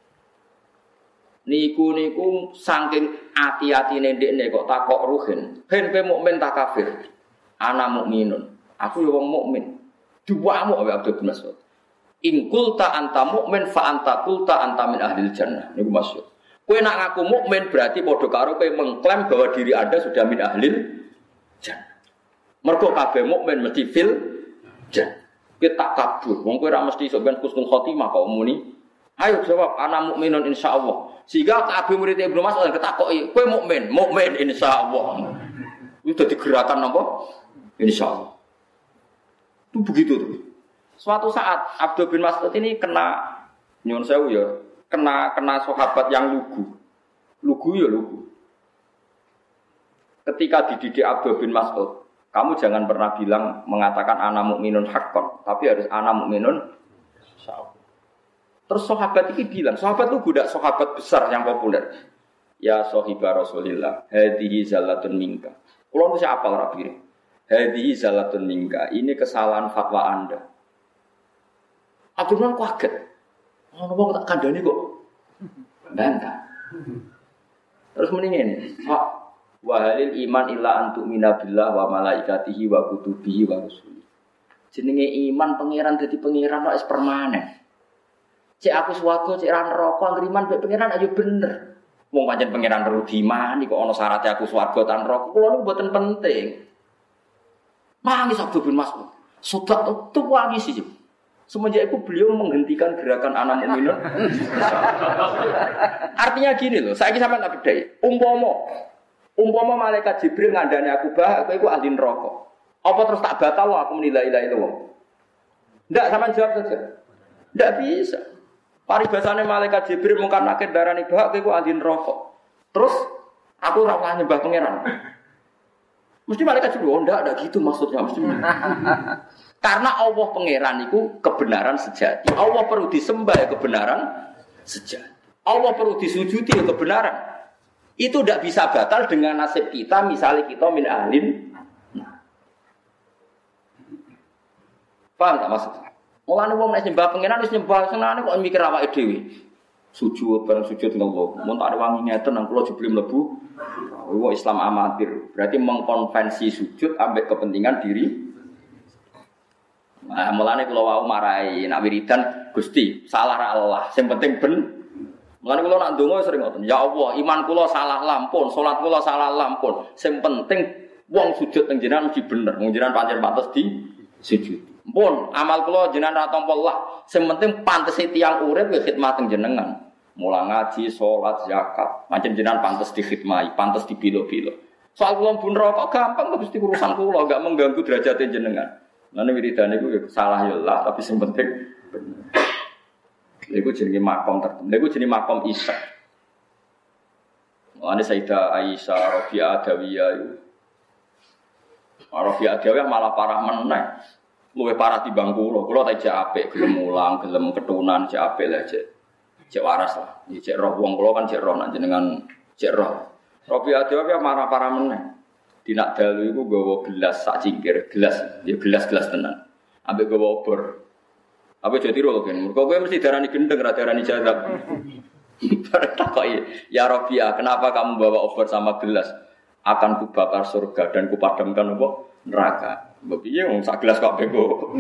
Niku saking ati-atine ndekne kok takok ruhin. Ben kowe mukmin ta kafir? Ana mukminun. Aku ya wong mukmin. Diwamu oleh Abdullah bin Mas'ud. In qulta anta mukmin fa anta qulta anta min ahlil jannah. Niku maksud. Kowe nak ngaku mukmin berarti padha karo kowe mengklaim bahwa diri Anda sudah min ahlil jannah. Mergo kabeh mukmin mesti fil jannah. Kowe tak kabur, wong kowe ora mesti sok ben husnul khotimah kok muni. Ayo jawab ana mukminun insyaallah. Sehingga kabeh murid Ibnu Mas'ud ketakoki, kowe mukmin insyaallah. Itu dadi gerakan napa? Insyaallah. Itu begitu tuh. Suatu saat Abdul bin Mas'ud ini kena nyuwun sewu ya. Kena sahabat yang lugu. Ketika dididik Abdul bin Mas'ud, kamu jangan pernah bilang mengatakan ana mukminun haqqan, tapi harus ana mukminun insyaallah. Terus sahabat ini bilang, sahabat itu budak sahabat besar yang populer. Ya sahibah Rasulillah, hadhihi zallatun minka. Kulo mesti apal rapi. Hadhihi zallatun minka. Ini kesalahan fatwa Anda. Abdul bin kaget. Ono wong tak kandhani kok. Bantah. Terus mending ngene. Wa halil iman illa antu minabillah wa malaikatihi wa kutubihi wa rusuli. Jenenge iman pangeran dadi pangeran kok wis permanen. Cek aku swarga, cek ra neraka, ngriman mek pangeran ayo bener. Wong pancen pangeran rudiman iki kok ana syaratnya aku swarga ta neraka. Kulo niku mboten penting. Nangis Abdul bin Mas'ud. Sudah tuh nangis sih. Semenjak itu beliau menghentikan gerakan anak mukminun. Artinya gini loh, saya sampean tak bedai. Umpama malaikat Jibril ngandani aku aku iku ahli neraka. Apa terus tak batal aku menilai ilahi itu? Ndak, sampean jawab saja. Ndak bisa. Paribasane malaikat Jibril mungkar nakir darani aku iku ahli neraka. Terus aku ora usah nyembah pangeran. Mesti malaikat Jibril ndak gitu maksudnya mesti. Karena Allah pangeran itu kebenaran sejati. Allah perlu disembah ya kebenaran sejati. Allah perlu disujudi ya kebenaran. Itu tidak bisa batal dengan nasib kita. Misalnya kita min ahlin. Paham tak maksudnya? Mulane wong nek nyembah pangeran wis nyembah senane kok mikir awake dhewe. Sujud bareng sujud ngello. Mun tak wangi ngeten nang kula jebule mlebu. Wong Islam amatir. Berarti mengkonvensi sujud ambek kepentingan diri. Nah, mulane kula wau marahi nak wiridan Gusti, salah ra Allah, sing penting ben. Mulane kula nak ndonga sering ngoten, ya Allah, iman kula salah lampun, salat kula salah lampun. Sing penting wong sujud teng jenengan mesti bener, wong jenengan pancen pantes di sujud. Pun amal kula jenengan ra tampa Allah, sing penting pantes tiyang urip ya khidmat teng jenengan. Mula ngaji, salat, zakat, pancen jenengan pantes dikhidmati, pantes dipilo-pilo. Soal kula pun rokok gampang Gusti urusan kula, enggak mengganggu derajat jenengan. Nane wiridan iku salah ya Allah, tapi sing penting bener. Iku jenenge makom tertentu. Iku jenenge makom Isa. Mulane Sayyidah Aisyah Rabi'ah Adawiyah iku. Rabi'ah Adawiyah malah parah meneh. Luwih parah timbang kula. Kula tak jek apik, gelem mulang, gelem ketunan, jek apik lah jek waras lah. Jek roh wong kula kan jek roh nek jenengan jek roh. Rabi'ah Adawiyah marah parah meneh. Dinak dalu iku gawa gelas sak cingkir, gelas tenan. Ambek gawa obor. Apa jadi ro kan? Mergo kowe mesti darani gendeng ra darani jazab. Takoki, "Ya Rabi'ah, kenapa kamu bawa obor sama gelas? Akan kubakar surga dan kupadamkan apa? Neraka." Mbok piye wong sak gelas kok bego.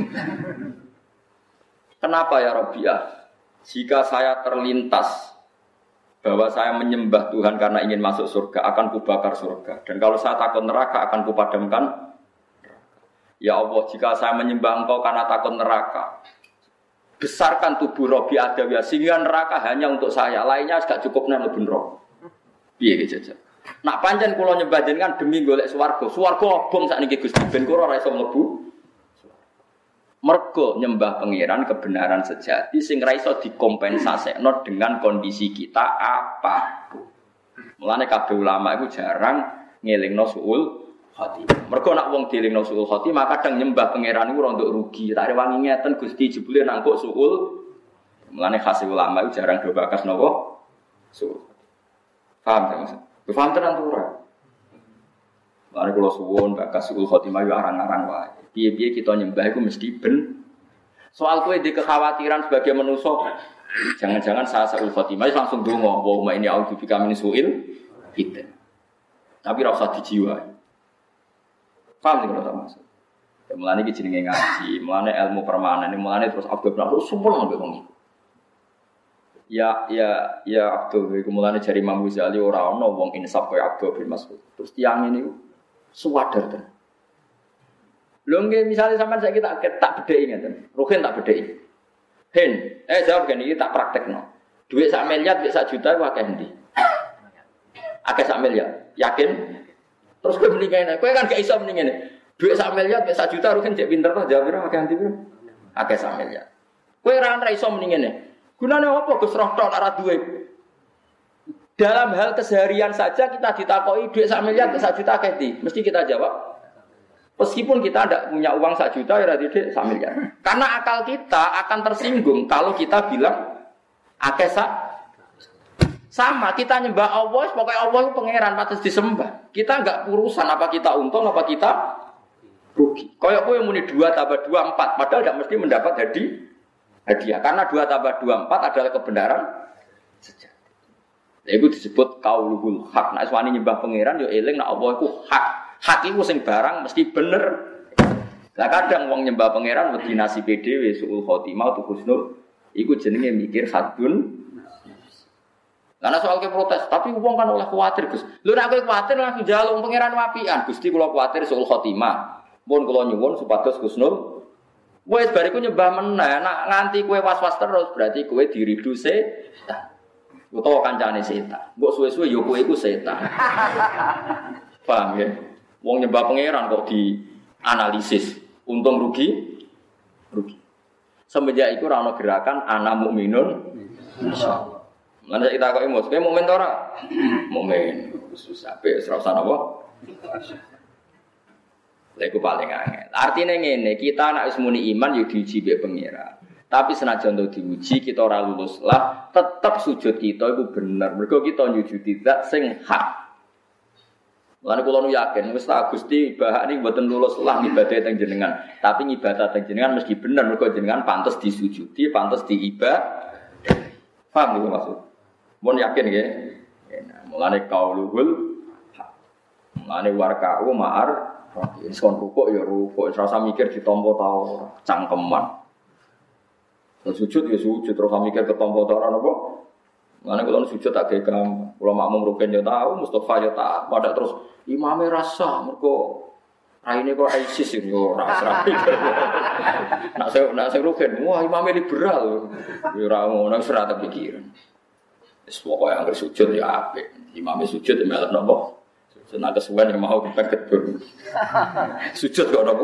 Kenapa ya Rabi'ah? Jika saya terlintas bahwa saya menyembah Tuhan karena ingin masuk surga, akan kubakar surga. Dan kalau saya takut neraka, akan kupadamkan neraka. Ya Allah, jika saya menyembah Engkau karena takut neraka, besarkan tubuh Rabi'ah Adawiyah, sehingga neraka hanya untuk saya, lainnya tidak cukup lebih neraka. Piye iki jajal. Nak pancen kula nyembah jenengan demi golek swarga. Swarga obong sakniki Gusti ben kula ora iso mlebu. Mergo nyembah pangeran kebenaran sejati sing ra iso dikompensasekno dengan kondisi kita apa. Mulane kabeh ulama iku jarang ngelingno suul khotimah. Mergo nek wong dielingno suul khotimah kadang nyembah pangeran iku rondok rugi. Tak rewangi ngeten Gusti jebule nang kok suul. Mulane khas ulama iku jarang do bakas napa suul. Paham ta Mas? Paham tenan to ora? Mulane kula suwun bakas suul khotimah yo arang-arang wae. Piye-piye kita nyembah iku mesti ben. Soal kowe di kekhawatiran sebagai manusia, jangan-jangan saya suul khotimah langsung donga, wa ini a'udzubika min su'il kita. Tapi ora usah dijiwai. Paham sing ora maksud. Ya mulane iki jenenge ngaji, mulane ilmu permanen, mulane terus Abdul Rahman sumpel ambek wong iku. Ya Abdul iku mulane jari Imam Ghazali ora ana wong insaf kaya Abdul bin Mas'ud. Terus tiyang ini suwadar tenan. Lho nggih misale sampean saiki tak bedheki ngeten. Ruhin tak bedheki. Hen, jawab gini iki tak praktekno. Duit 1 miliar, duit 1 juta ku akeh endi? Akeh 1 miliar. Yakin? Terus kowe muni kene. Kowe kan gak iso muni ngene. Duit 1 miliar, duit 1 juta Ruhin cek pinter to jawab piro akeh endi piro? Akeh 1 miliar. Kowe ora iso muni ngene. Gunane apa Gus roh tok ora duwe? Dalam hal keseharian saja kita ditakoki duit 1 miliar, duit 1 juta akeh endi? Mesti kita jawab meskipun kita tidak punya uang 1 juta, ya tidak 1 miliar. Karena akal kita akan tersinggung kalau kita bilang akeh sama. Kita nyembah Allah, pokoknya Allah itu pangeran patut disembah. Kita enggak urusan apa kita untung apa kita rugi. Kayak kowe muni 2 tambah 2 4, padahal tidak mesti mendapat hadiah. Karena 2 tambah 2 4 adalah kebenaran sejati. Itu disebut qaulul haq. Nek wani nyembah pangeran yo eling nek Allah iku hak. Hak iku sing barang mesti bener. Lah kadang wong nyembah pangeran wedi nasibe dhewe suul khotimah tu husnul iku jenenge mikir hadun. Karena soal ke protes, tapi wong kan oleh kuwatir Gus. Lho nek kowe kuwatir langsung njaluk pangeran wapian. Gusti kula kuwatir suul khotimah. Mun kula nyuwun supados husnul. Wes bariku nyembah meneh, nek nganti kowe was-was terus berarti kowe diridu setan. Utawa kancane setan. Mbok suwe-suwe ya kowe iku setan. Paham ya? Wong nyembah pangeran kok dianalisis untung rugi. Semenjak itu ora ana gerakan ana mukminun insyaallah. Lan kita kok emos, kowe mukmin ta ora? Mukmin. Susah pe ora usah napa. Lha iku paling angel. Artine ngene, kita nek wis muni iman yo diuji mbek pangeran. Tapi senajan to diuji kita ora lulus lah, tetep sujud kita iku bener. Mergo kita nyujudi zat sing hak. Lan kula nu yakin wis tak Gusti bahak niki mboten lulus lah ibadah teng jenengan. Tapi ibadah teng jenengan mesti bener mergo jenengan pantes disujudi, pantes diibadah. Paham iki maksud? Mun yakin nggih. Mulane qauluhul haq. Mulane warka'u ma'ar son rukuk ya rukuk, ora usah mikir ditampa ta ora, cangkeman. Sujud ya sujud, terus mikir ketampa ta ora napa? Mulane kula sujud tak gegam, kula makmum rugen ya tahu, Mustofa ya tak, pada terus imame rasa mergo raine kok ISIS yo ora pikir. Nak saya rugen, wah imame liberal. Yo ora ngono wis ora kepikiran. Wis pokoke anggere sujud ya apik. Imame sujud ya melok napa? Senang kesuwen yang mau kepeget dur. Sujud kok napa?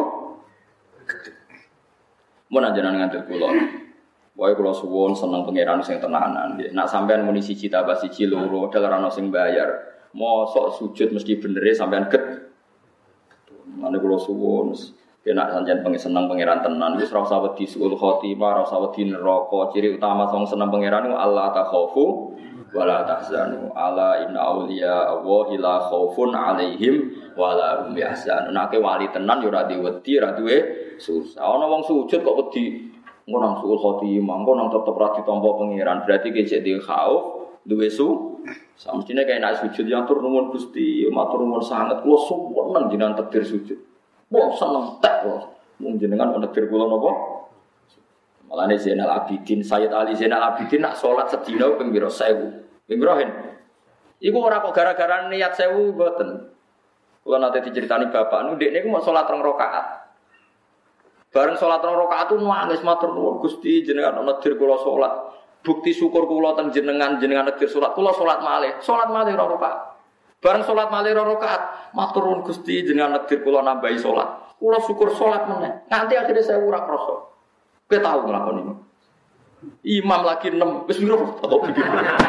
Mun anjenengan ngantil kula. Wae kula suwun seneng pangeran sing tenanan nggih. Nek sampean muni siji tambah siji loro dal ora ono sing bayar. Mosok sujud mesti benere sampean get. Mane kula suwun nek sampean seneng pangeran tenan wis ora usah wedi suul khotimah, ora usah wedi neraka. Ciri utama wong seneng pangeran ku Allah takhafu wala tahzanu ala inna auliya Allahi la khaufun alaihim wala hum yahzanun. Nek wali tenan yo ora diwedi, ora duwe susah. Ana wong sujud kok wedi ngono suul khotimah, ngono tetep ra ditampa pangeran. Berarti kecek di khauf, duwe su. Samestine kaya nek sujud yang tur nuwun Gusti, matur nuwun sanget kula suwun jenengan takbir sujud. Wah, seneng tek kula. Mung jenengan takbir kula napa? Malane Zainal Abidin, Sayyid Ali Zainal Abidin nak salat sedina ping pira 1000. Ping pira hen? Iku ora kok gara-gara niat 1000 mboten. Kula nate diceritani bapak nu ndekne iku mau salat 2 rakaat. Bareng salat 2 rakaat tu nangis matur nuwun Gusti jenengan ana dir kula salat. Bukti syukur kula teng jenengan nektir salat kula salat malih ora rakaat. Bareng salat malih ora rakaat, matur nuwun Gusti jenengan nektir kula nambahi salat. Kula syukur salat meneh. Nganti akhirnya saya ora krasa. Kowe tau nglakoni ini. Imam lagi 6 wis piro tau pikir.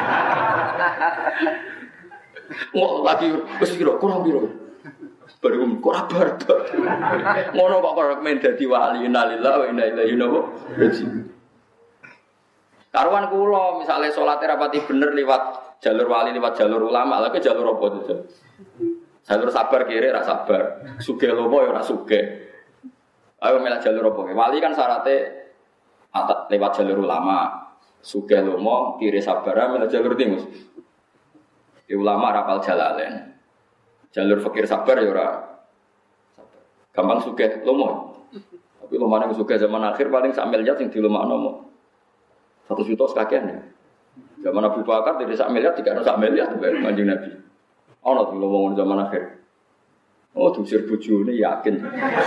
Ngok lagi wis piro kurang piro. Baru kok abar. Ngono kok men dadi wali innalillahi wa inna ilaihi raji'un. Karuan kula misale salate rapati bener liwat jalur wali liwat jalur ulama lha ke jalur apa itu? Jalur sabar kiri ra sabar, sugih lomo ya ora sugih. Ayo milih jalur apa? Wali kan syaratnya lewat jalur ulama, sugih lomo kiri sabar milih jalur timus. Di ulama rapal jalalain. Jalur fakir sabar ya ora sabar. Gampang sugih lomo. Tapi lomane sugih zaman akhir paling sak miliar sing dilomakno mo. 1 juta sekakian ya. Zaman Abu Bakar tidak sak miliar, tidak ada sak miliar tuh Kanjeng Nabi. Ono tuh ngomong zaman akhir. Oh, diusir bojone yakin.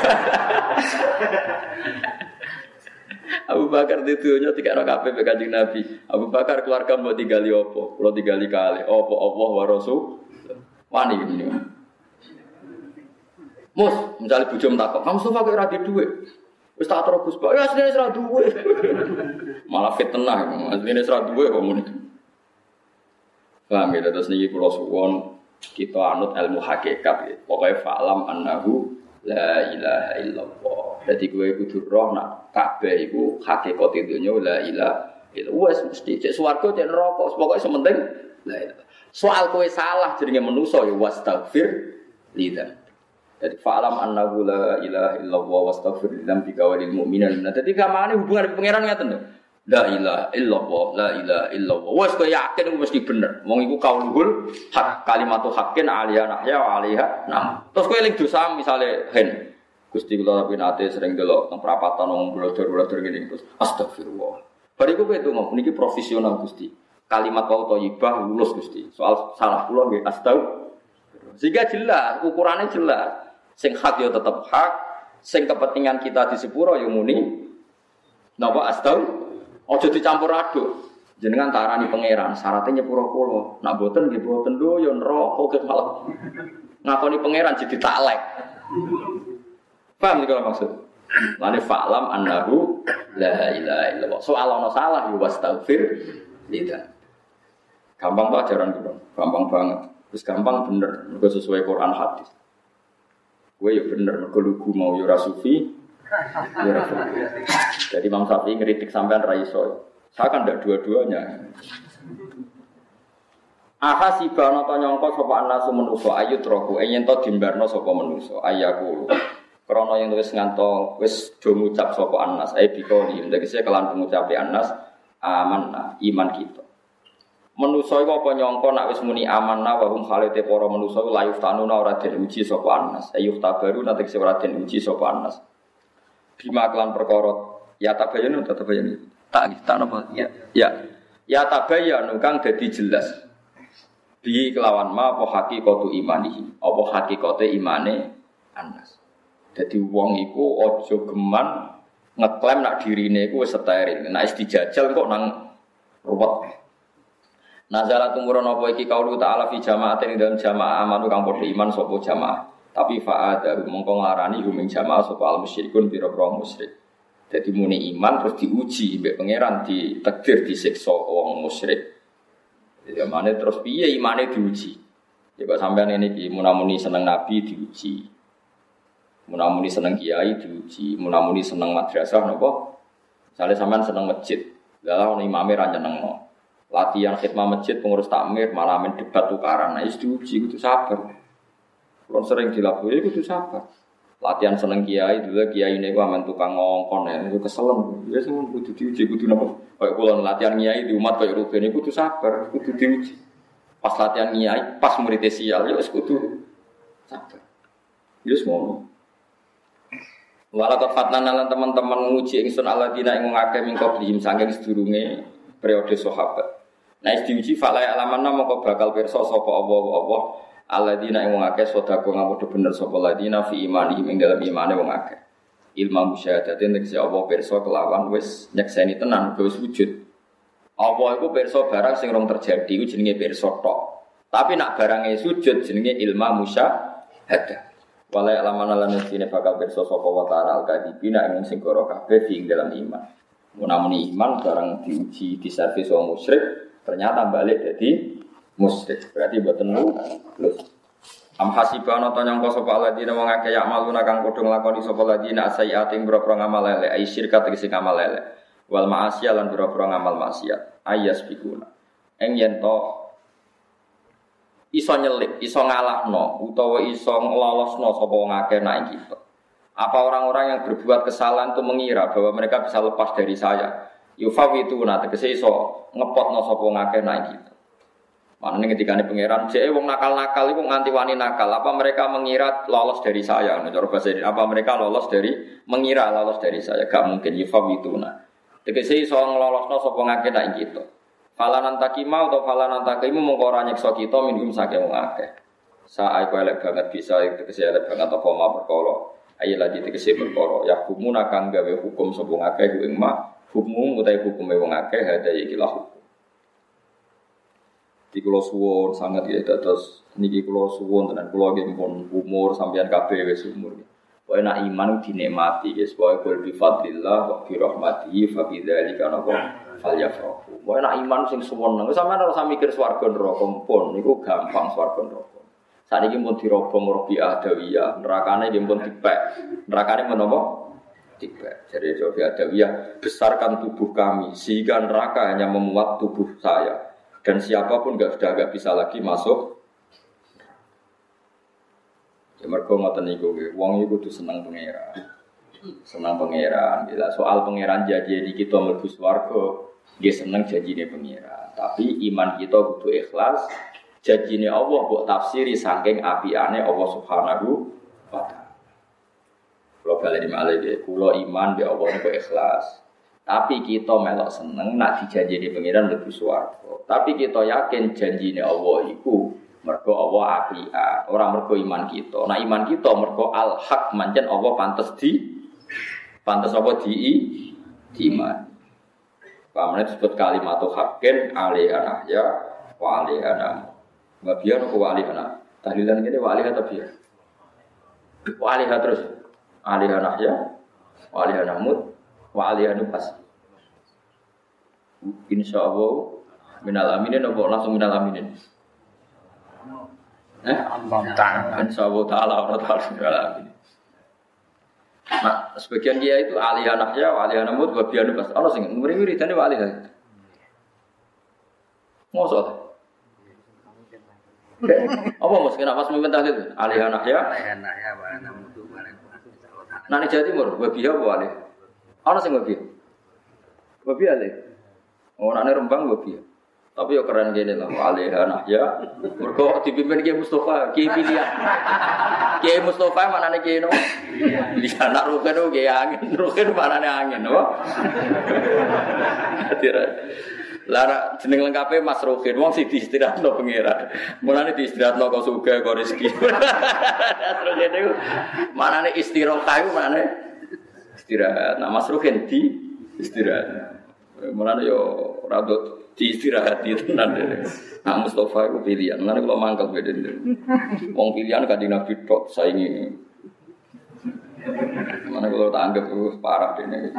Abu Bakar ditunya tidak ada kabeh Kanjeng Nabi. Abu Bakar keluarga mau tinggali opo? Kalau tinggali kali opo Allah wa Rasul. Wani ini. Mus, misalnya bojom takok, "Kamu suka kok ora di dhuwit?" Wis tak terus Pak, ya asline ora duwe. Malah fitnah, asline ora duwe kok muni. Paham ya, terus niki kula suwun kita anut ilmu hakikat ya. Pokoke fa'lam annahu la ilaha illallah. Dadi kowe kudu roh nak kabeh iku hakikat dunya la ilaha illallah. Wes mesti cek swarga cek neraka, pokoke sementing la ilaha. Soal kowe salah jenenge manusa ya wastaghfir lidzam. Jadi fa'lam annahu la ilaha illallah wastaghfir lidzambika walil mu'minin. Nah, dadi kamane hubungan pangeran ngaten lho. La ilaha illallah, la ilaha illallah. Wes kowe yakin mesti bener. Wong iku kaulul hak kalimatu haqqin aliyah nahya wa alaiha nam. Terus kowe eling dosa misale hen. Gusti kula tapi nate sering delok nang prapatan wong blodor-blodor ngene terus astagfirullah. Bariku kowe itu ngomong niki profesional Gusti. Kalimat wau thayyibah lulus Gusti. Soal salah kula nggih astagfirullah. Sehingga jelas, ukurannya jelas. Sing hak ya tetap hak, sing kepentingan kita di sepuro ya muni. Napa astau? Aja dicampur aduk. Jenengan tarani pangeran, syaratnya nyepuro kula. Nak boten nggih boten lho ya neraka kok malah. Ngakoni pangeran jadi taklek. Paham iki kalau maksud? Lane fa'lam annahu la ilaha illallah. Soal ana salah ya wastaghfir lidzam. Gampang kok ajaran kula. Gampang banget. Terus gampang bener, mergo sesuai Quran hadis. Gue ya bener, mergo lugu mau ya ora sufi, ya ora sufi. Jadi Imam Syafi'i ngeritik sampean ra iso. Saya kan ndak dua-duanya. Aha sibana ta nyangka sapa anasu manusa ayut roku yen to dimbarno sapa manusa ayaku. Krana yen wis nganto wis do ngucap sapa anas ae bikoni ndekse kelan pengucape anas amanna iman kita. Manusa iku apa nyangka nek wis muni amanna wa hum khalite para manusa layuf tanuna ora den uji sapa anas ayuh tabaru nanti sing ora den uji sapa anas bima kelan perkara ya tabayun tak napa ya tabayun kang dadi jelas bi kelawan ma apa hakikatu imanihi apa hakikate imane anas dadi wong iku aja geman ngeklaim nak dirine iku wis steril nek wis dijajal kok nang ruwet. Nazala tumurun apa iki kaulu ta'ala fi jama'atin dalam jamaah amanu kang padha iman sapa jamaah. Tapi fa'ada mongko nglarani huming jamaah sapa al musyrikun pira-pira musyrik. Dadi muni iman terus diuji mbek pangeran ditakdir disiksa wong musyrik. Jadi amane terus piye imane diuji. Ya kok sampean ngene iki munamuni seneng nabi diuji. Munamuni seneng kiai diuji, munamuni seneng madrasah napa? Misale sampean seneng masjid, lha ono imame ra nyenengno. Latihan khidmah masjid pengurus takmir malah main debat tukaran, nah itu diuji itu sabar. Kalau sering dilakukan itu sabar. Latihan seneng kiai dulu kiai ini gua main tukang ngongkon ya itu keselem. Ya semua itu diuji itu napa? Kayak kalau latihan kiai di umat kayak rugen itu sabar, itu diuji. Pas latihan kiai, pas murid sial ya itu sabar. Ya semua. Walakot fatnan lan teman-teman nguji ingsun alladzina ing ngake mingko bihim saking sedurunge periode sahabat. Nah, diuji falai alamanna mongko bakal pirsa sapa apa alladzina ing wong akeh sedekah ngamudu bener sapa alladzina fi imani ing dalam imane wong akeh. Ilmu musyahadatin tegese apa pirsa kelawan wis nyekseni tenan wis wujud. Allah iku pirsa barang sing rong terjadi iku jenenge pirsa tok. Tapi nak barange sujud jenenge ilma musyahadah. Wala alamana lan sine bakal pirsa sapa wa ta'ala al-kadibina ing sing goro kabeh ing dalam iman. Mun iman barang diuji diservis wong musyrik ternyata balik jadi musyrik. Berarti mboten lulus. Am hasibana ta nyangka sapa ladina wong akeh yak maluna kang padha nglakoni sapa ladina sayiat ing boro ngamal elek ai syirkat sing ngamal elek wal ma'asiyah lan boro ngamal maksiat ayas bikuna eng yen to iso nyelik iso ngalahno utawa iso nglolosno sapa wong akeh nek kita apa orang-orang yang berbuat kesalahan itu mengira bahwa mereka bisa lepas dari saya yufawituna tegese iso ngepotno sapa wong akeh nek kita. Maknanya ketika ini pangeran, jadi wong nakal-nakal itu nganti wani nakal. Apa mereka mengira lolos dari saya? Apa mereka lolos dari mengira lolos dari saya? Gak mungkin. Yufawituna. Tegese iso nglolosno sapa ngake nak kita. Falanan takima atau falanan takimu mengko ora nyekso kita minum saking wong akeh. Sae kowe elek banget bisa tegese elek banget apa ma perkara. Ayo lagi tegese perkara. Ya hukumuna kang gawe hukum sapa ngake ku ing ma hukum utahe hukume wong akeh hada iki lah. Di kulo suwon sangat ya terus niki kulo suwon tenan kulo nggih pun umur sampeyan kabeh wis umur. Pokoke nek iman dinikmati ya pokoke kul bi fadlillah wa bi rahmatihi fa bi dzalika falyafrahu. Pokoke nek iman sing suwon nang sampeyan ora usah mikir swarga neraka pun niku gampang swarga neraka. Saniki pun dirobong Rabi'ah Adawiyah, nerakane nggih pun dipek. Nerakane menapa? Dipek. Jadi Rabi'ah Adawiyah, besarkan tubuh kami sehingga neraka hanya memuat tubuh saya. Dan siapapun sudah enggak bisa lagi masuk. Ya mergo ngoten niku nggih. Wong iku kudu seneng pangeran. Seneng pangeran. Bila soal pangeran janji kita mlebu swarga, nggih seneng janjine pangeran. Tapi iman kita kudu ikhlas. Janjine Allah mbok tafsiri saking apiane Allah Subhanahu wa taala. Kalau baleni malih nggih, kula iman be Allah niku ikhlas. Tapi kita melok seneng nak dijanjini pangeran mlebu swarga. Tapi kita yakin janjine Allah iku mergo Allah apian, ora mergo iman kita. Nah iman kita mergo al-haq mancen Allah pantes apa di iman. Pamane disebut kalimatu haqqin alaiha ya wa alaiha. Babian ku alaiha. Tahlilan kene wa alaiha tabiya. Wa alaiha terus alaiha ya wa alaiha namut wa alaiha pas. Insyaallah minal aminin apa langsung minal aminin. Allah Ta'ala. Insyaallah taala wa ta'ala minal aminin. Nah, sebagian dia itu alihah nahya wa alihah namut wa biyan pas. Ana sing murid-muridane wa alihah. Mosok. Apa mos kena pas mimpin tahlil alihah nahya wa namut wa alihah. Nang Jawa Timur wa biya wa alih. Ana sing wa biya. Wa biya alih. Oh nane Rembang wa biya. Tapi yo keren gini lah, alihah nahya. Mergo dipimpin Kiai Mustafa, Kiai pilihan. Kiai Mustafa mana nih Kiai no? Pilihan nak rugen tu Kiai angin, rugen mana nih angin, no? Lara jeneng lengkapnya Mas Rugen, wong si diistirahat no pengira. Mulane diistirahat no kau suka kau rezeki. Terus itu mana nih istirahat kayu mana nih istirahat. Nah Mas Rugen di istirahat. Mulane yo radot diistirahati tenan dene. Nak Mustafa iku pilihan. Mulane kula mangkel beden. Wong pilihan Kanjeng Nabi tok saingi. Mulane kula tak anggap parah dene.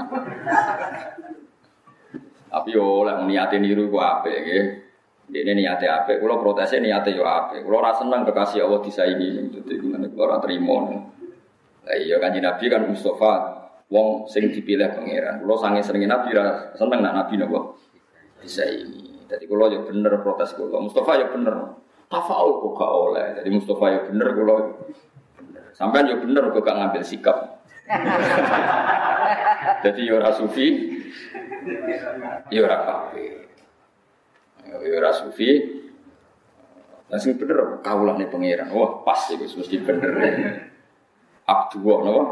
Tapi yo oleh niate niru ku apik nggih. Dene niate apik, kula protese niate yo apik. Kula ora seneng kekasih Allah disaingi. Dadi mulane kula ora trimo. Lah iya Kanjeng Nabi kan Mustafa wong sing dipilih pangeran. Kula sange senenge Nabi ra seneng nak Nabi napa bisa ini. Jadi kalau ya bener protes kalau Mustafa ya bener. Tafaul kok gak oleh. Jadi Mustafa ya bener kalau sampean ya bener kok gak ngambil sikap. Jadi ya ora sufi, ya ora kafir. Ya ora sufi. Langsung bener kaulane pangeran. Wah, pas iku mesti bener. Abdullah napa?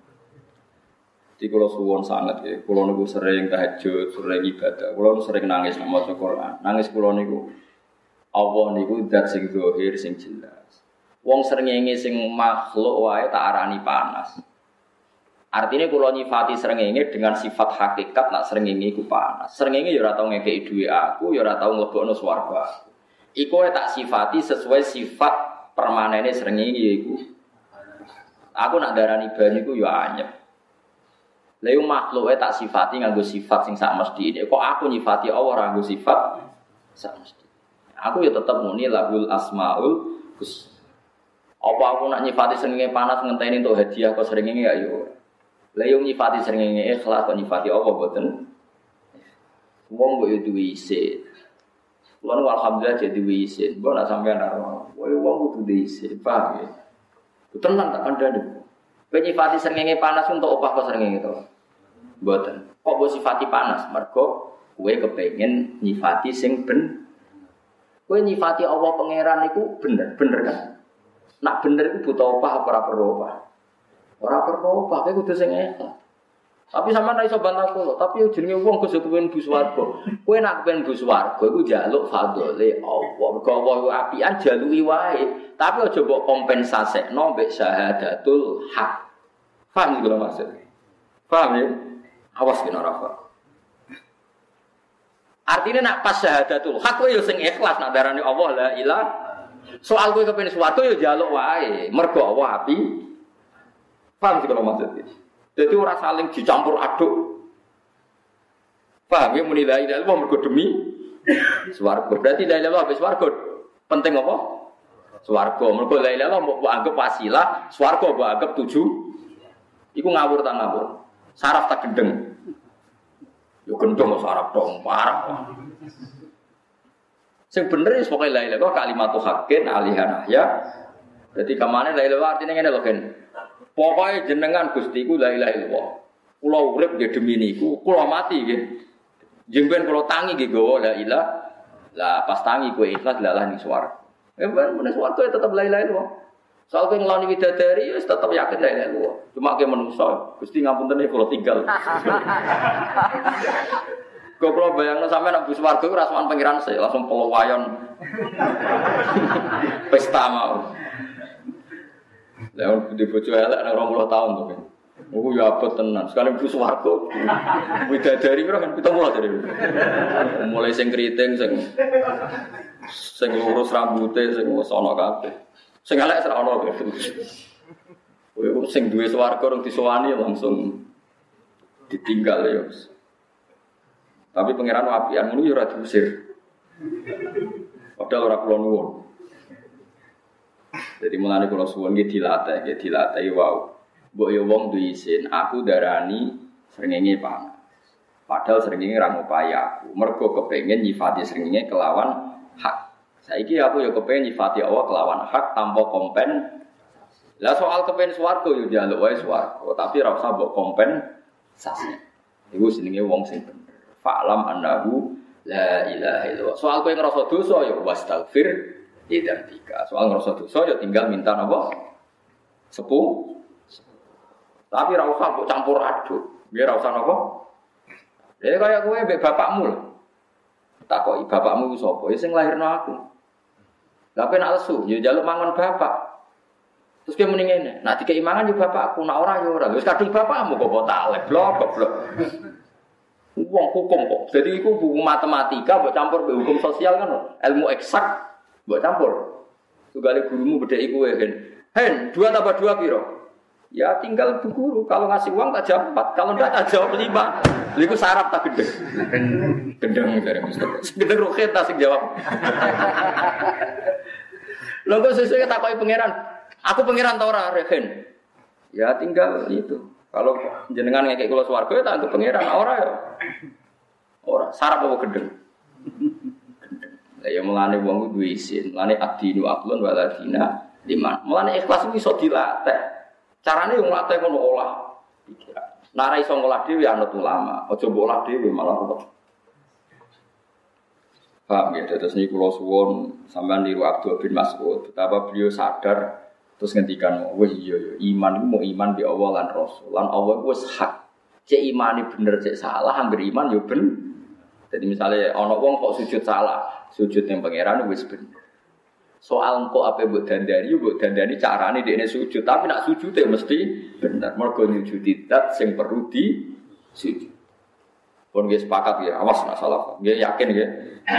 Di kulo suwon sangat ya, kulo niku sering tahajud, sering ibadah, kulo sering nangis nama Quran. Nangis kulo niku, Allah niku zat sing zahir sing jelas. Wong srengenge sing makhluk wae tak arani panas. Artinya kalau nyifati srengenge dengan sifat hakikat nak srengenge iku panas. Srengenge ya ora tau ngekeki dhuwit aku, ya ora tau mlebokno swarga. Iku tak sifati sesuai sifat permanene srengenge iku. Aku nak darani banyu iku ya anyep. Lha yo makhluke tak sifati nganggo sifat sing sak mestine. Kok aku nyifati Allah ora nganggo sifat sak mestine. Aku ya tetep muni lahul asmaul husna. Apa aku nak nyifati srengenge panas ngenteni entuk hadiah kok srengenge ya yo. Lah yo nyifati srengenge ikhlas kok nyifati Allah mboten. Wong kok yo duwe isin. Kulo alhamdulillah jadi duwe isin. Mbok nak sampean karo wong kudu duwe isin, paham ya? Tenan tak kandhane. Kowe nyifati srengenge panas untuk opah kok srengenge to. Mboten. Kok mbok sifati panas? Mergo kowe kepengin nyifati sing ben. Kowe nyifati Allah pangeran iku bener kan? Nak bener iku butuh opah apa ora perlu opah? Ora perlu opah, kowe kudu sing ikhlas. Tapi sampean ra iso bantah kula, tapi jenenge wong kudu kepen bu swarga. Kowe nak kepen bu swarga iku njaluk fadhole Allah. Mergo Allah iku apian jaluki wae, tapi aja mbok kompensasekno mbek syahadatul haq. Paham iki lho maksud? Paham ya? Awas kena ora paham. Artinya nak pas syahadatul haq kowe yo sing ikhlas nak darani Allah la ilaha. Soal kowe kepen swarga yo njaluk wae, mergo Allah api. Paham iki lho maksud? Jadi orang saling dicampur aduk. Paham ya muni la ilaha illallah mergo demi swarga. Berarti la ilaha illallah habis swarga. Penting apa? Swarga. Mergo la ilaha illallah mbok anggap wasilah, swarga mbok anggap tuju. Iku ngawur ta ngawur. Saraf tak gendeng. Yo gendeng saraf dong parah. Sing bener wis pokoke la ilaha illallah kalimatu haqqin alihan ya. Jadi kamane la ilaha artine ngene lho Gen. Pokoke jenengan Gusti ku la ilaha illallah. Kula urip nggih demi niku, kula mati nggih. Jengben kula tangi nggih gawa la ilaha. Lah pas tangi kowe ikhlas lalah ning swarga. Ben men swarga tetep la ilaha illallah. Soal kowe ngloni widadari wis tetep yakin la ilaha illallah. Cuma ke manusa, Gusti ngapunten kula tinggal. Kok kula bayangno sampeyan nang swarga ku rasman pangeran sik langsung pelawayan. Pesta mau. Lah di bojo elek nang 20 tahun to kan. Iku ya abot tenan. Sekali mlebu swarga. Widadari pira kan 70 jare. Mulai sing kriting sing lurus rambute sing wis ana kabeh. Sing elek ora ana kabeh. Kowe sing duwe swarga rung disowani langsung ditinggal ya. Tapi pangeran apian ngono ya ora diusir. Padahal ora kula nuwun. Jadi mulane kula suwun nggih dilatih wow. Mbok yo wong duwe isin, aku darani srengenge panas. Padahal srengenge ra ngupayi aku. Mergo kepengin nyifati srengenge kelawan hak. Saiki aku yo kepengin nyifati Allah kelawan hak tanpa kompen. Lah soal kepen swarga yo njaluk wae swarga, tapi ora usah mbok kompensasi. Iku jenenge wong sing bener. Fa'lam annahu la ilaha illallah. Soal kowe ngrasa dosa yo wastaghfir idambika. Soal ngrasa dosa ya tinggal minta napa? Sepuh. Tapi ora usah mbok campur aduk. Biar ora usah napa? Ya kaya kowe mbek bapakmu lho. Takoki bapakmu ku sapa? Ya sing lahirno aku. Lah kowe nak lesu, ya njaluk mangan bapak. Terus kowe muni ngene, nak dikei mangan yo bapakku, nak ora yo ora. Wis kadung bapakmu kok talek goblok. Wong hukum kok. Jadi iku buku matematika mbok campur mbek hukum sosial kan ilmu eksak. Mbok campur. Tugale gurumu bedheki kowe, Hen, 2 tambah 2 piro? Ya tinggal bu guru. Kalau ngasih uang tak jawab 4, kalau enggak tak jawab 5. Lha iku sarap tak gendeng. Gendeng jare Mustafa. Gendeng roket tak sing jawab. Lha kok sesuk takoki pangeran. Aku pangeran ta ora, Hen? Ya tinggal itu. Kalau jenengan ngekek kula swarga ya tak anggap pangeran, ora ya. Ora, sarap apa gendeng? Lah ya mulane wong kudu isin, mulane adinu aqlun waladina liman. Mulane ikhlas iki iso dilatih. Carane yo nglatih ngono olah pikiran. Nek ora iso ngolah dhewe anut ulama, aja mbok olah dhewe malah repot. Paham ya, terus niku kula suwun sampean niru Abdul bin Mas'ud, betapa beliau sadar terus ngendikan, wis iya ya, iman iku mau iman bi Allah lan Rasul. Lan Allah wis hak. Cek imane bener cek salah, anggere iman yo ben. Jadi misalnya ana wong kok sujud salah, sujud ning pangeran wis bener. Soal engko ape mbok dandani carane dekne sujud, tapi nak sujude mesti bener. Mergo nyujudi zat sing perlu di sujud. Pun nggih sepakat ya, awas nak salah. Nggih yakin nggih.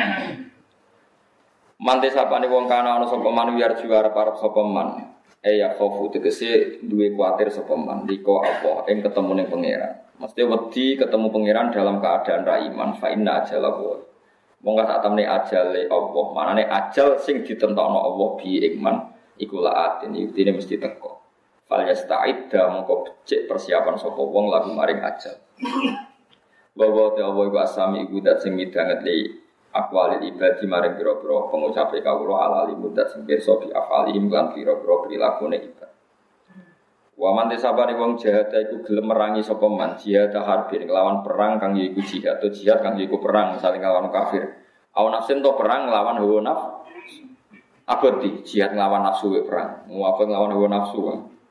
Mante sapane wong kana ana sapa man wiar juara parep sapa man. Ya khofu tegese duwe kuwatir sapa man liko apa ing ketemu ning pangeran. Mesti wedi ketemu pangeran dalam keadaan ra iman fa inna ajalahu. Monggo sak temne ajale Allah, manane ajal sing ditentokno Allah bi iman iku laatin iki mesti teko. Fal yasta'idda mongko becik persiapan sapa wong lagu maring ajal. Bahwa te Allah iku asami iku dat sing midanget li aqwalil ibadi maring pira-pira pengucape kawula alali mudat sing pirsa bi afalihim lan pira-pira prilakune ibad. Wa man desabane wong jihad iku gelem merangi sapa man jihad harbin nglawan perang kang yaiku jihad atau jihad kang yaiku perang saling nglawan kafir. Aun nafsin to perang nglawan hawa nafsu. Abadi jihad nglawan nafsu we perang. Muwafaq nglawan hawa nafsu.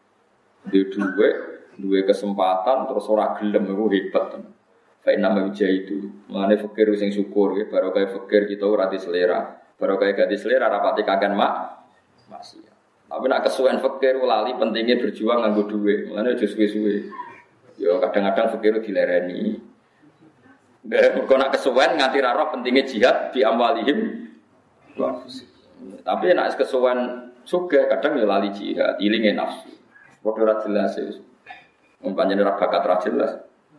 Duwe kesempatan terus ora gelem iku hebat. Fa inna itu mangane fakir sing syukur ya baru kaya fakir kita ora di selera. Baru kaya gak di selera rapati kagan maksiat. Tapi nak kesuwen fakir lali pentingnya berjuang nganggo duit. Mulane aja suwe-suwe. Ya kadang-kadang fakir dilereni. Kok nak kesuwen nganti ra roh pentingnya jihad di amwalihim. Tapi nak kesuwen sugih kadang ya lali jihad, ilinge nafsu. Padha ra jelas ya. Pancen ora bakat ra jelas.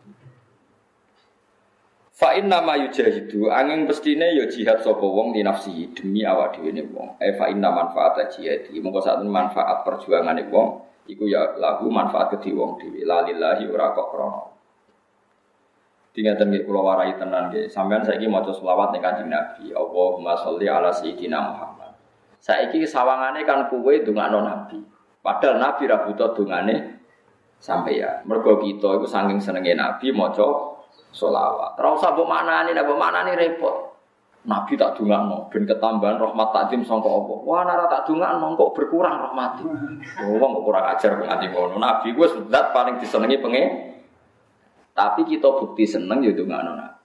Fa inna ma yujahidu angin pestine ya jihad sapa wong di nafsi demi awak dhewe ne wong. Fa inna manfaata jihadi mongko sak manfaat perjuangane wong iku ya lahu manfaat kedhi wong dhewe lalillahi ora kok krana. Dingaten nggih kula warai tenan nggih sampean saiki maca selawat ning Kanjeng Nabi Allahumma sholli ala sayyidina Muhammad. Saiki sawangane kan kowe ndongakno Nabi. Padahal Nabi ra butuh dongane sampeyan. Mergo kita iku saking senenge Nabi maca sholawat. Ora usah mbok maknani repot. Nabi tak dongakno ben ketambahan rahmat takdim sangka apa. Wah nek tak dongakno kok berkurang rahmat. Wong kok kurang ajar nganti ngono. Nabi ku wis zat paling disenengi pengen. Tapi kita bukti seneng ya dongakno Nabi.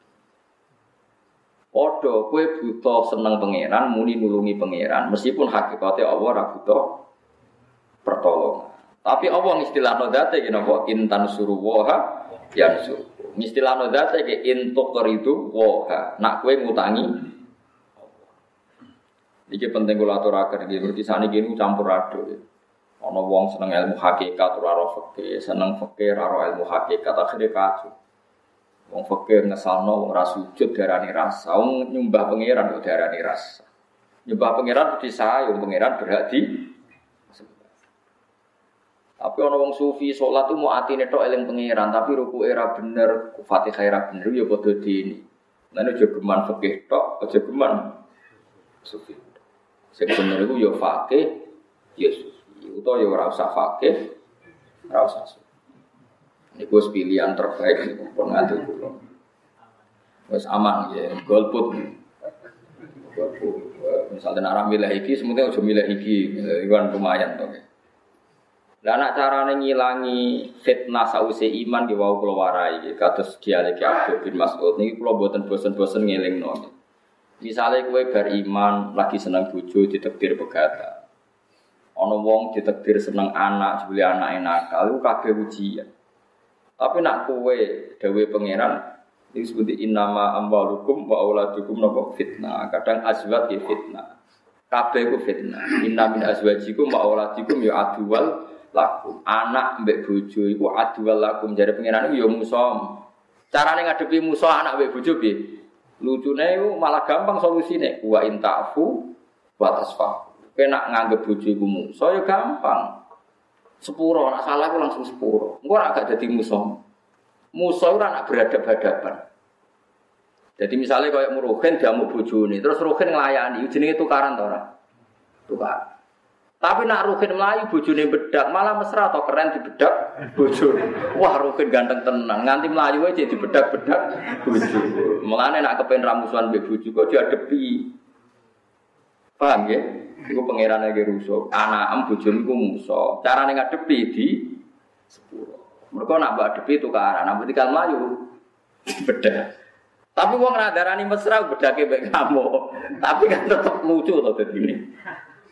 Padha kowe buta seneng pangeran muni nulungi pangeran meskipun hakikate Allah ora buta pertolongan. Tapi Allah istilahno zate napa intan suruwaha yansur. Istilahno zate ke intuk keridu waha. Nak kowe ngutangi. Iki penting kula aturaken iki mergi saniki niku campur aduk. Ana wong seneng ilmu hakikat ora ro fikih, seneng fikih ora ro ilmu hakikat akhire kacau. Wong fikih ngesalno wong ora sujud darani rasa, wong nyembah pangeran kok darani rasa. Nyembah pangeran disayung pangeran berhak di tapi ana wong sufi salat tu mau atine tok eling pangeran tapi rukuke ora bener, Fatihah ora bener ya padha dini. Lan aja geman fikih tok, aja geman sufi. Sing bener iku ya fakih, ya sufi. Utawa ya ora usah fakih, ora usah sufi. Niku pilihan terbaik niku pun ngatur kula. Wis aman ya, golput. Misalnya arah milih iki, semuanya aja milih iki, iku kan lumayan to. Lah nek carane ngilangi fitnah sause iman ki wau kula warai kados dialek Abdul bin Mas'ud niki kula mboten bosen-bosen ngelingno. Misale kowe bar iman lagi seneng bojo ditakdir pegatan. Ana wong ditakdir seneng anak, jebule anake nakal iku kabeh ujian. Tapi nek kowe dawuhe pangeran iki disebut innama amwalukum wa auladukum napa fitnah. Kadang azwaj ki fitnah. Kabeh ku fitnah. Inna min azwajikum wa auladikum ya aduwal lakum anak mbek bojo iku adwal lakum jare pengiran iku ya musuh. Carane ngadepi musuh anak mbek bojo piye? Lucune iku malah gampang solusine. Wa intafu wa tasfa. Kena nganggep bojo iku musuh ya gampang. Sepuro nek salah iku langsung sepuro. Engko ora gak dadi musuh. Musuh ora nak beradab-hadapan. Jadi misalnya kayak Ruhin diamuk bojone, terus Ruhin nglayani jenenge tukaran ta ora? Tukar. Tapi nak Ruhin melayu bojone bedak, malah mesra atau keren dibedak bojone. Wah, Ruhin ganteng tenan, nganti melayu aja dibedak-bedak bojo. Mulane nak kepen ramusuhan mbek bojo kok diadepi. Paham ya? Iku pangerane ge rusuh. Anakem bojone iku musuh. Carane ngadepi di sepuro. Mergo nak mbak adepi tukaran, nak tikal melayu bedak. Tapi wong ra darani mesra bedake mbek kamu. Tapi kan tetep lucu to dadine.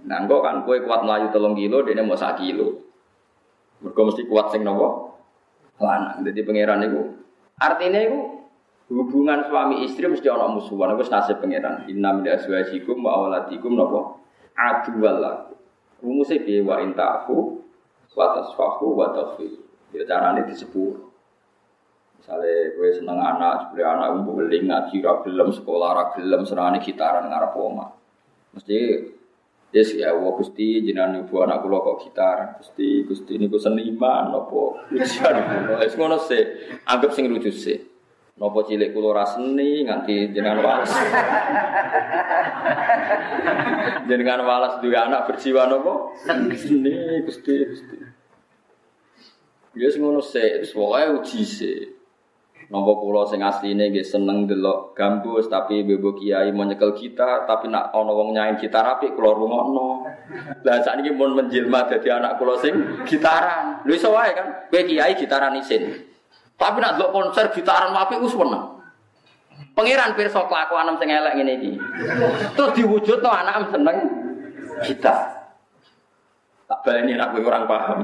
Nah, engko kan kowe kuat mlayu 3 kilo, dene mau 1 kilo. Mergo mesti kuat sing napa? Lanang. Dadi pangeran niku artine iku hubungan suami istri mesti ana musuhan. Iku nasib pangeran. Inna min azwajikum wa auladikum napa? Aduwal lakum. Rumuse piye wa intafu wa tasfahu wa taghfir. Ya carane disepur. Misale kowe seneng anak, jebule anak mbok weling ngaji ra gelem, sekolah ra gelem, senengane gitaran ngarep omah. Mesti yes ya Allah Gusti jenengan ibu anak kula kok gitar. Gusti niku seniman napa ujian kula. Wis ngono sih, anggap sing lucu sih. Napa cilik kula ra seni nganti jenengan waras. Jenengan waras duwe anak berjiwa napa? Seni Gusti. Ya sing ngono sih, wis pokoke uji sih. Napa kula sing asline nggih seneng delok gambus tapi bebo kiai mau nyekel gitar tapi nak ana wong nyain gitar apik kula rungokno. Lah sakniki mun menjelma dadi anak kula sing gitaran. Lho iso wae kan, kowe kiai gitaran isin. Tapi nak delok konser gitaran apik wis weneng. Pangeran pirsa kelakuan sing elek ngene iki. Terus diwujudno anak seneng gitar. Tak baleni nak kowe orang paham.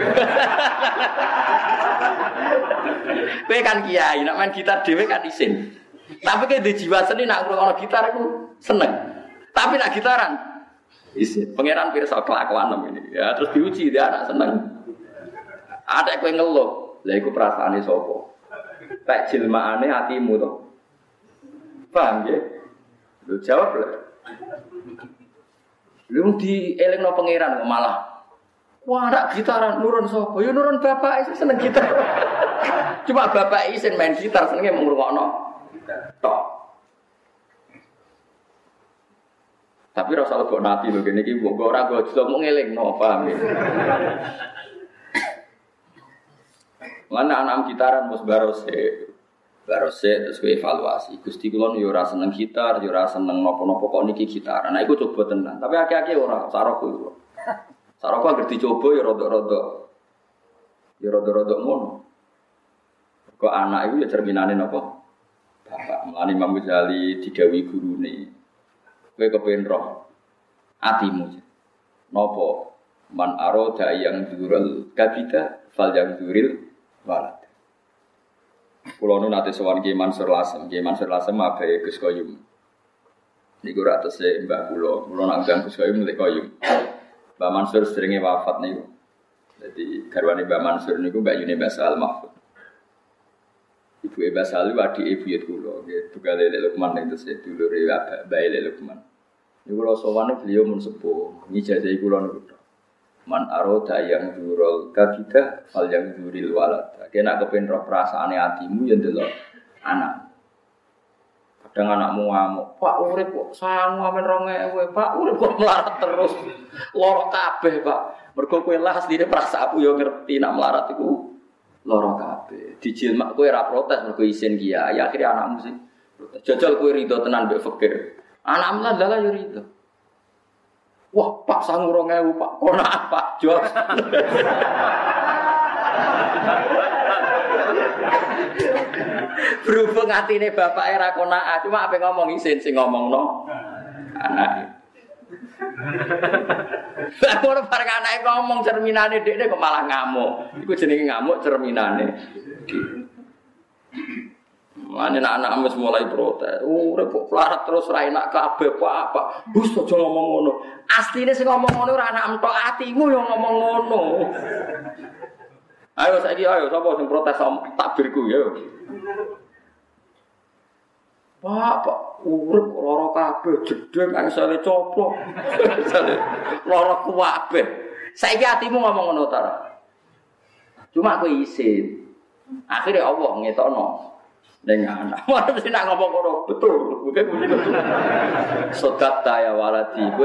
Kowe kan kiai, nak main gitar dhewe kan isin. Tapi kowe di jiwa seni nak ngrungokno gitar iku seneng. Tapi nak gitaran isin. Pangeran pirsa kelakuan ini. Ya terus diuji dia anak seneng. Ada kowe ngeluh, lha iku perasaane sapa? Tak jelmaane atimu to. Paham ya? Lu jawab lho. Lu dielingno pangeran kok malah wah nak gitaran nurun sapa? Ya nurun bapak seneng gitar. Cuma bapak isin main gitar senenge mung ngrungokno tok. Tapi ora usah lebok nati lho kene iki mbok ora gojo mung ngelingno, paham ya. Mana anak gitaran mus barose terus kowe evaluasi. Gusti kula yo ora seneng gitar, yo ora seneng napa-napa kok niki gitaran. Nah iku coba tenan. Tapi akeh-akeh ora saroko iku. Saroko anggere dicoba ya rodok-rodok. Ya rodok-rodok ngono. Kok anak iku ya cerminane napa? Bapak Mulane Imam Ghazali didhawuhi gurune. Kowe kepengin roh atimu. Napa? Man arada yang dzurul kabida fal yang dzuril walad. Kulo nu nate sowan Ki Mansur Lasem abahe Gus Koyum. Niku ra tese Mbah kula nak ganggu Gus Koyum nek Koyum. Mbah Mansur seringe wafat niku. Dadi garwane Mbah Mansur niku Mbak Yuni Basal Mahfud. Ibu Basal wadi ibu yut kula, nggih tugale Lek Lukman ning tese dulure Bae Lek Lukman. Niku kula sowan beliau mun sepuh, ngijazahi kula niku. Man aroda yang dzurul kabida fal yang dzuril walad. Kena kepen roh perasaane atimu ya ndelok anak. Kadang anakmu ngamuk, "Pak urip kok sangu amen 2000, Pak urip kok melarat terus. Lara kabeh, Pak." Mergo kowe lah asline perasaanku ya ngerti nak melarat iku lara kabeh. Dijilmak kowe ora protes mergo isin kiai, akhire anakmu sing protes. Jajal kowe rido tenan mbek fakir. Anakmu lah dalah yo rido. Wah, Pak sangu 2000, Pak. Kono apa, Jos? Berhubung atine bapake ra konaah, cuma ape ngomong isin sing ngomongno anake. Lah ora bareng anake ngomong cerminane dekne kok malah ngamuk. Iku jenenge ngamuk cerminane. Mane anak-anak wis mulai protes. Urip kok pelarat terus ra enak kabeh apa. Bus aja ngomong ngono. Asline sing ngomong ngono ora anak entok atimu yo ngomong ngono. Ayo saiki sapa sing protes takbirku ya. Pak, urip kok lara kabeh jedeng angsale coplok. Lara kabeh. Saiki atimu ngomong ngono ta. Cuma aku isin. Akhire Allah ngetokno. Ning anak. Mana mesti nak ngomong ngono betul. Bukan betul. Sodakta ya waladi. Kowe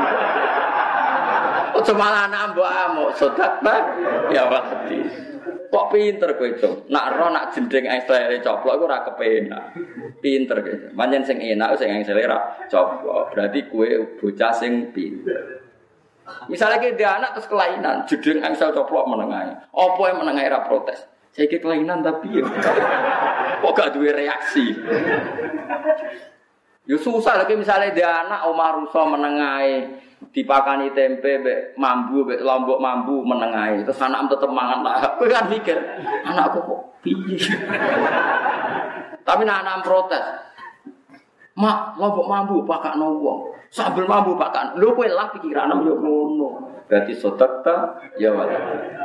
ojo malah nambah amuk. Sodakta ya waladi. Kok pinter kowe itu. Nak ro nak jendring angsele coplok iku ora kepenak. Pinter kowe. Pancen sing enak sing angsele ra coplok. Berarti kowe bocah sing pinter. Misalnya kita anak terus kelainan, jendring angsel coplok menengae. Apa yang menengae ra protes? Saya kelainan tapi ya. Kok gak duwe reaksi. Yo susah lagi misalnya dia anak omah rusa menengae dipakani tempe mbek mambu mbek lombok mambu menengae terus anak tetep mangan lah. Kowe kan mikir, anakku kok piye. Tapi anak protes. Mak, lombok mambu pakakno wong. Sambel mambu pakan. Lho kowe lah pikiranmu yo ngono. Berarti sedekah ya wae.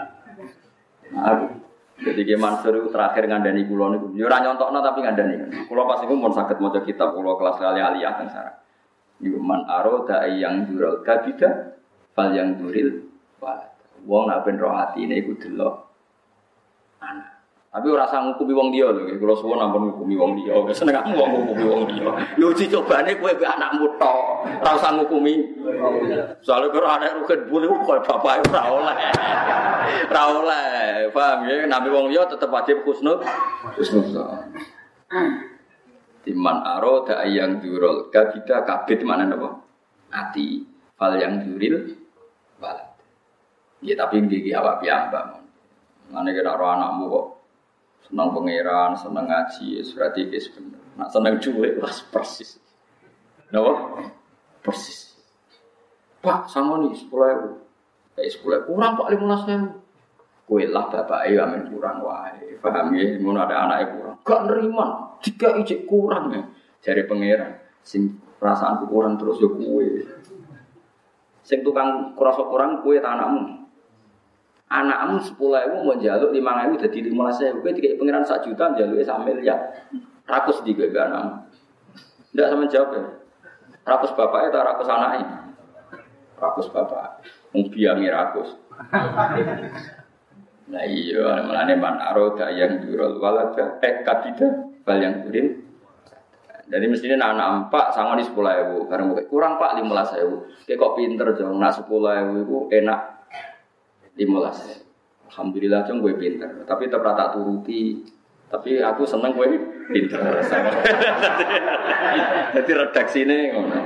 Jadi Ki Mansur itu terakhir ngandani kula niku. Yo ora nyontokno tapi ngandani. Kula pas iku mun saged maca kitab kula kelas kali aliyah teng sareng. Iku man aroda yang dural kabida fal yang duril walad. Wong nek ben roh atine iku delok anak. Tapi ora usah ngukumi wong liya lho, kula suwun ampun ngukumi wong liya. Seneng aku wong ngukumi wong liya. Yo uji cobane kowe mbek anakmu tok. Ora usah ngukumi. Soale karo anak rugen bule kok bapake ora oleh. Ora oleh. Paham ya, nabi wong liya tetep wajib husnul. Timan aroda yang durul kabida kabid mana napa? Ati. Fal yang duril walad. Ya tapi nggih awak piyambak. Mane kira ora anakmu kok senang pangeran, senang ngaji, berarti wis bener. Nak seneng cuwek wis persis. Napa? Persis. Pak, sangoni 10.000. 10.000 kurang Pak 15.000. Kowe lah bapake amen kurang wae. Paham ya? Ngono ada anake kurang. Gak nerima, tiga ijek kurang ya. Jare pangeran, sing perasaanku kurang terus yo kowe. Sing tukang krasa kurang kowe ta anakmu. Anakmu 10.000 mau njaluk 5.000 dadi 15.000. Kowe dikek pangeran 1 juta njaluke 1 miliar. Rakus di kowe anakmu. Ndak sampean jawab ya. Rakus bapake ta rakus anake? Rakus bapak. Wong biyange rakus. Nah iya, mulane man aroda yang durul walada kabida bal yang durin. Jadi mestinya anak empat sangoni 10.000, karena kurang Pak 15.000. Kayak kok pinter dong, nak 10.000 itu enak 15. Alhamdulillah dong gue pinter, tapi tetap tak turuti. Tapi aku seneng gue pinter. Jadi redaksi ini ngono.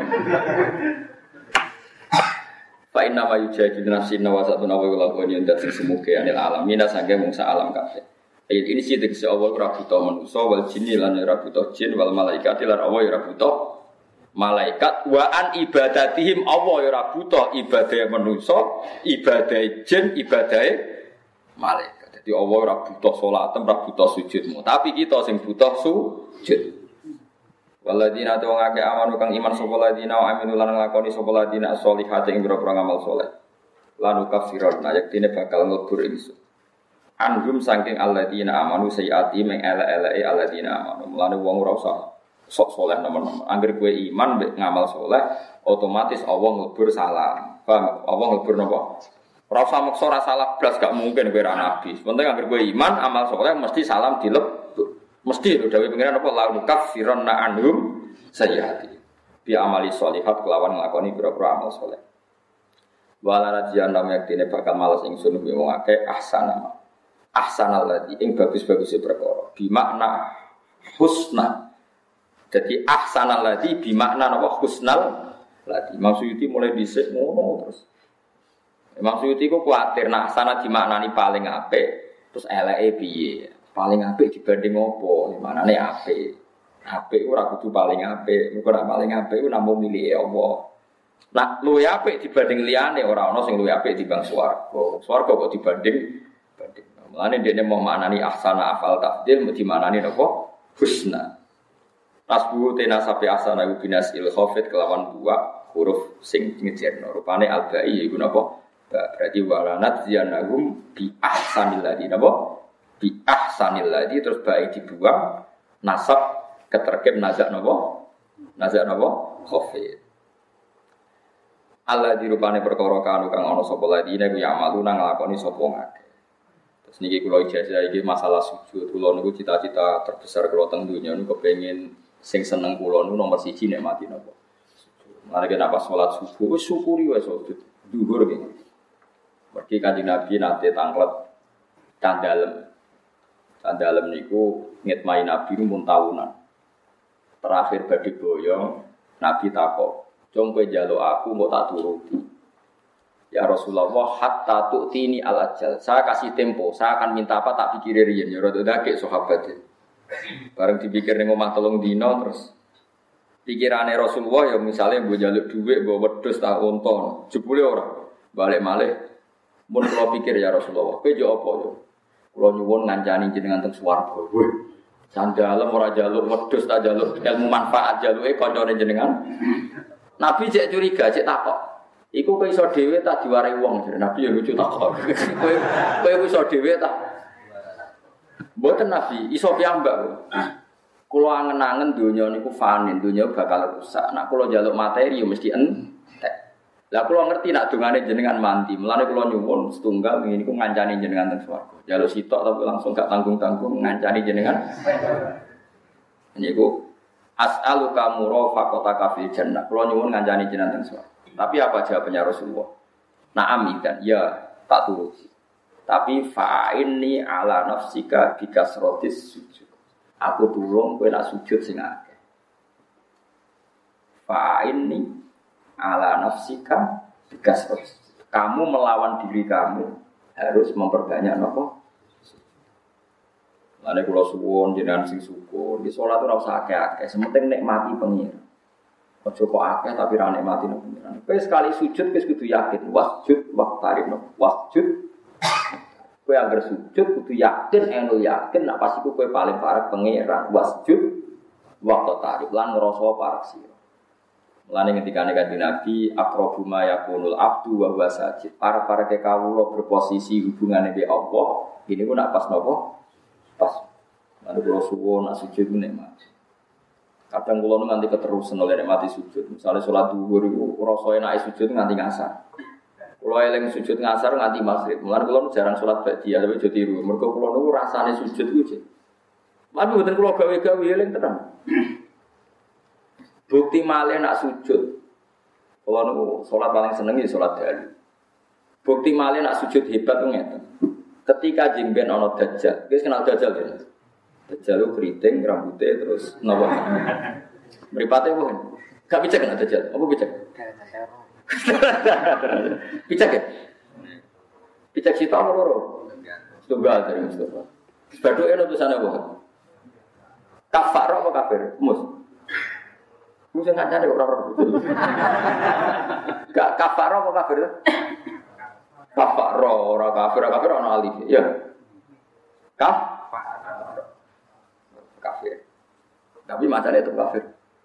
Fa inna ma yujadilu nafsin wa satuna wa lakoni ndak semuge anil alam mina sange mungsa alam kabeh. Ayat ini sih dikse Allah ora buta manusa wal jinni lan ora buta jin wal malaikati lan Allah ora buta malaikat wa an ibadatihim Allah ora buta ibadah manusa, ibadah jin, ibadah malaikat. Jadi Allah ora buta salat, ora buta sujudmu, tapi kita sing buta sujud. Waladina tu ngake amanu kang iman sapa ladina wa aminu lan nglakoni sapa ladina sholihate ing boro ngamal saleh. Lan kafiron yaktine bakal nglebur ingsun. Anhum saking alladina amanu sayati meng ele-eleke alladina amanu. Mulane wong ora usah sok saleh nemen-nemen. Angger kowe iman mek ngamal saleh, otomatis Allah nglebur salam. Paham? Allah nglebur napa? Ora usah maksa ora salah blas gak mungkin kowe ra nabi. Penting angger kowe iman amal saleh mesti salam dilebur. Mesti lho dawuh pengiran apa la kafiron na anhum sayyiati bi amali sholihat kelawan nglakoni pira-pira amal saleh. Wala radiyana yaktine bakal males ingsun wong akeh ahsanal ladzi ing bagus-baguse perkara bi makna husna. Jadi ahsanal ladzi bi makna napa husnal ladzi. Maksudnya mulai dhisik ngono terus. Maksudnya ku kuwatir nek ahsana dimaknani paling apik terus eleke piye? Paling apik dibanding apa? Manane apik. Apik ora kudu paling apik. Muga nek paling apik ku namung milike Allah. Nak luwih apik dibanding liyane ora ana sing luwih apik dibanding swarga. Swarga kok dibanding. Mulane dene mau maknani ahsana afal tafdil mesti maknani napa? Husna. Tasbu tenasabi ahsana iku binasil khafid kelawan dua huruf sing ngejerno. Rupane albai iku napa? Berarti walanat ziyanahum bi ahsanil ladzi napa? Bi ahsanil ladzi terus bae dibuang nasab keterkib nazak napa khafid Allah dirupane perkara kanu kang ana sapa ladine ku ya malu nang nglakoni sapa ngake. Terus niki kula ijazah iki masalah sujud. Kula niku cita-cita terbesar kula teng donya niku kepengin sing seneng kula niku nomor 1 nek mati napa sujud. Mare nek pas salat subuh wis syukuri wae sujud dhuwur iki. Mergi Kanjeng Nabi nate tanglet candalem. Candalem niku ngitmai Nabi mun tahunan. Terakhir badhe boyong Nabi takok, "Jong kowe njaluk aku mbok tak turuti." Ya Rasulullah, hatta tu'tini al-ajal. Saya kasih tempo, saya akan minta apa tak pikir riyen ya rada dake sahabat. Bareng dipikir ning omah 3 dina terus Pikirane Rasulullah ya misalnya mbok njaluk dhuwit, mbok wedhus ta unta, jebule ora balik malih. Mun kula pikir ya Rasulullah, kowe yo apa yo? Kula nyuwun ngancani jenengan teng swarga. Wih, sandalem ora njaluk wedhus ta njaluk ilmu manfaat jaluke kancane jenengan. Nabi cek curiga, cek takok. Iku kowe iso dhewe ta diwarai wong? Nabi yo lucu takok. Kowe iso dhewe ta? Mboten Nabi, iso piyambak. Kula angen-angen donya niku fani, donya bakal rusak. Nek kula njaluk materi yo mesti entek. Lah kula ngerti nek dongane jenengan mandi. Mulane kula nyuwun setunggal ngene niku ngancani jenengan teng swarga. Njaluk sitok tapi langsung gak tanggung-tanggung ngancani jenengan. Niku as'aluka murafaqataka fil jannah. Kula nyuwun ngancani jenengan teng swarga. Tapi apa jawabannya Rasulullah? Na'am kan, ya tak turuti. Tapi fa'inni ala nafsika bikasratis sujud. Aku tulung kowe nak sujud sing akeh. Fa'inni ala nafsika bikasratis. Kamu melawan diri kamu harus memperbanyak napa? Lane kula suwun jenengan sing syukur, di salat ora usah akeh-akeh, sementing nikmati pengiran. Aja kok akeh tapi ra nikmati pengiran. Kowe sekali sujud wis kudu yakin, wasjud waqtarib, wasjud. Kowe anggere sujud kudu yakin, eno yakin nek pas iku kowe paling parek pengiran, wasjud waqtarib lan ngrasa parek sira. Mulane ketikane Kanjeng Nabi aqrabu ma yakunul abdu wa huwa sajid. Para kawula berposisi hubungane be Allah, ini ku nak pas napa? Pas. Lalu kula suwun nak sujud nikmat. Kadang kula nganti keterusan oleh nikmati sujud. Misalnya salat zuhur iku rasa enake sujud nganti ngasar. Kula eling sujud ngasar nganti maghrib. Mulane kula jarang salat ba'diyah tapi aja tiru. Mergo kula niku rasane sujud iku jek. Tapi mboten kula gawe-gawe eling tenan. Bukti malih nak sujud. Kula niku salat paling seneng ya salat dalu. Bukti malih nak sujud hebat ku ngeten. Ketika jengben ana dajjal, wis kenal dajjal ya. Dajjal ku keriting rambutnya terus napa? Mripate ku. Gak picek nek dajjal. Apa picek? Picek ya? Picek sita apa loro? Tunggal dari Mustafa. Baduke ono tulisane apa? Kafar apa kafir? Mus. Mus ngancane kok ora ora. Gak kafar apa kafir? Kafar ora kafir ana alif. Ya. Kafir. Tapi macane itu kafir.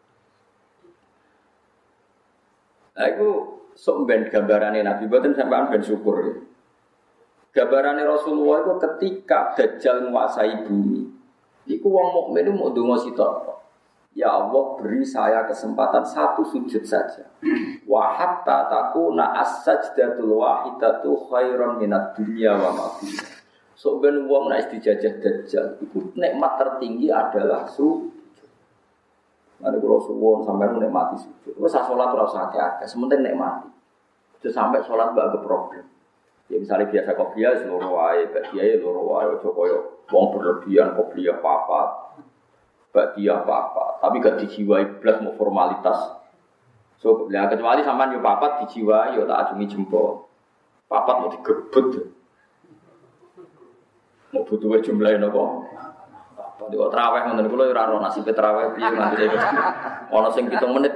Nah, itu sok ben gambarane Nabi boten sampean ben syukur. Ya. Gambarane Rasulullah itu ketika Dajjal menguasai bumi. Iku wong mukmin mau ndonga sitok. Ya Allah, beri saya kesempatan satu sujud saja. Wa hatta takuna as-sajdatul wahidatu khairan minad dunya wa ma fiha. Sok ben wong nek dijajah Dajjal, iku nikmat tertinggi adalah sujud. Mari kula suwun sampeyan nikmati sujud. Wis salat ora usah akeh, sementing nikmati. Aja sampai salat mbak problem. Ya misalnya biasa kopiah loro wae, bagiae loro wae aja koyo wong berlebihan kopiah papat. Bagian apa-apa, tapi gak dijiwai blas mau formalitas. So, ya kecuali sampean yo papat dijiwai yo tak acungi jempol. Papat mau digebet. Mau butuh jumlahe napa? Apa kok traweh ngoten kula ora ora nasibe traweh piye nganti ana sing 7 menit.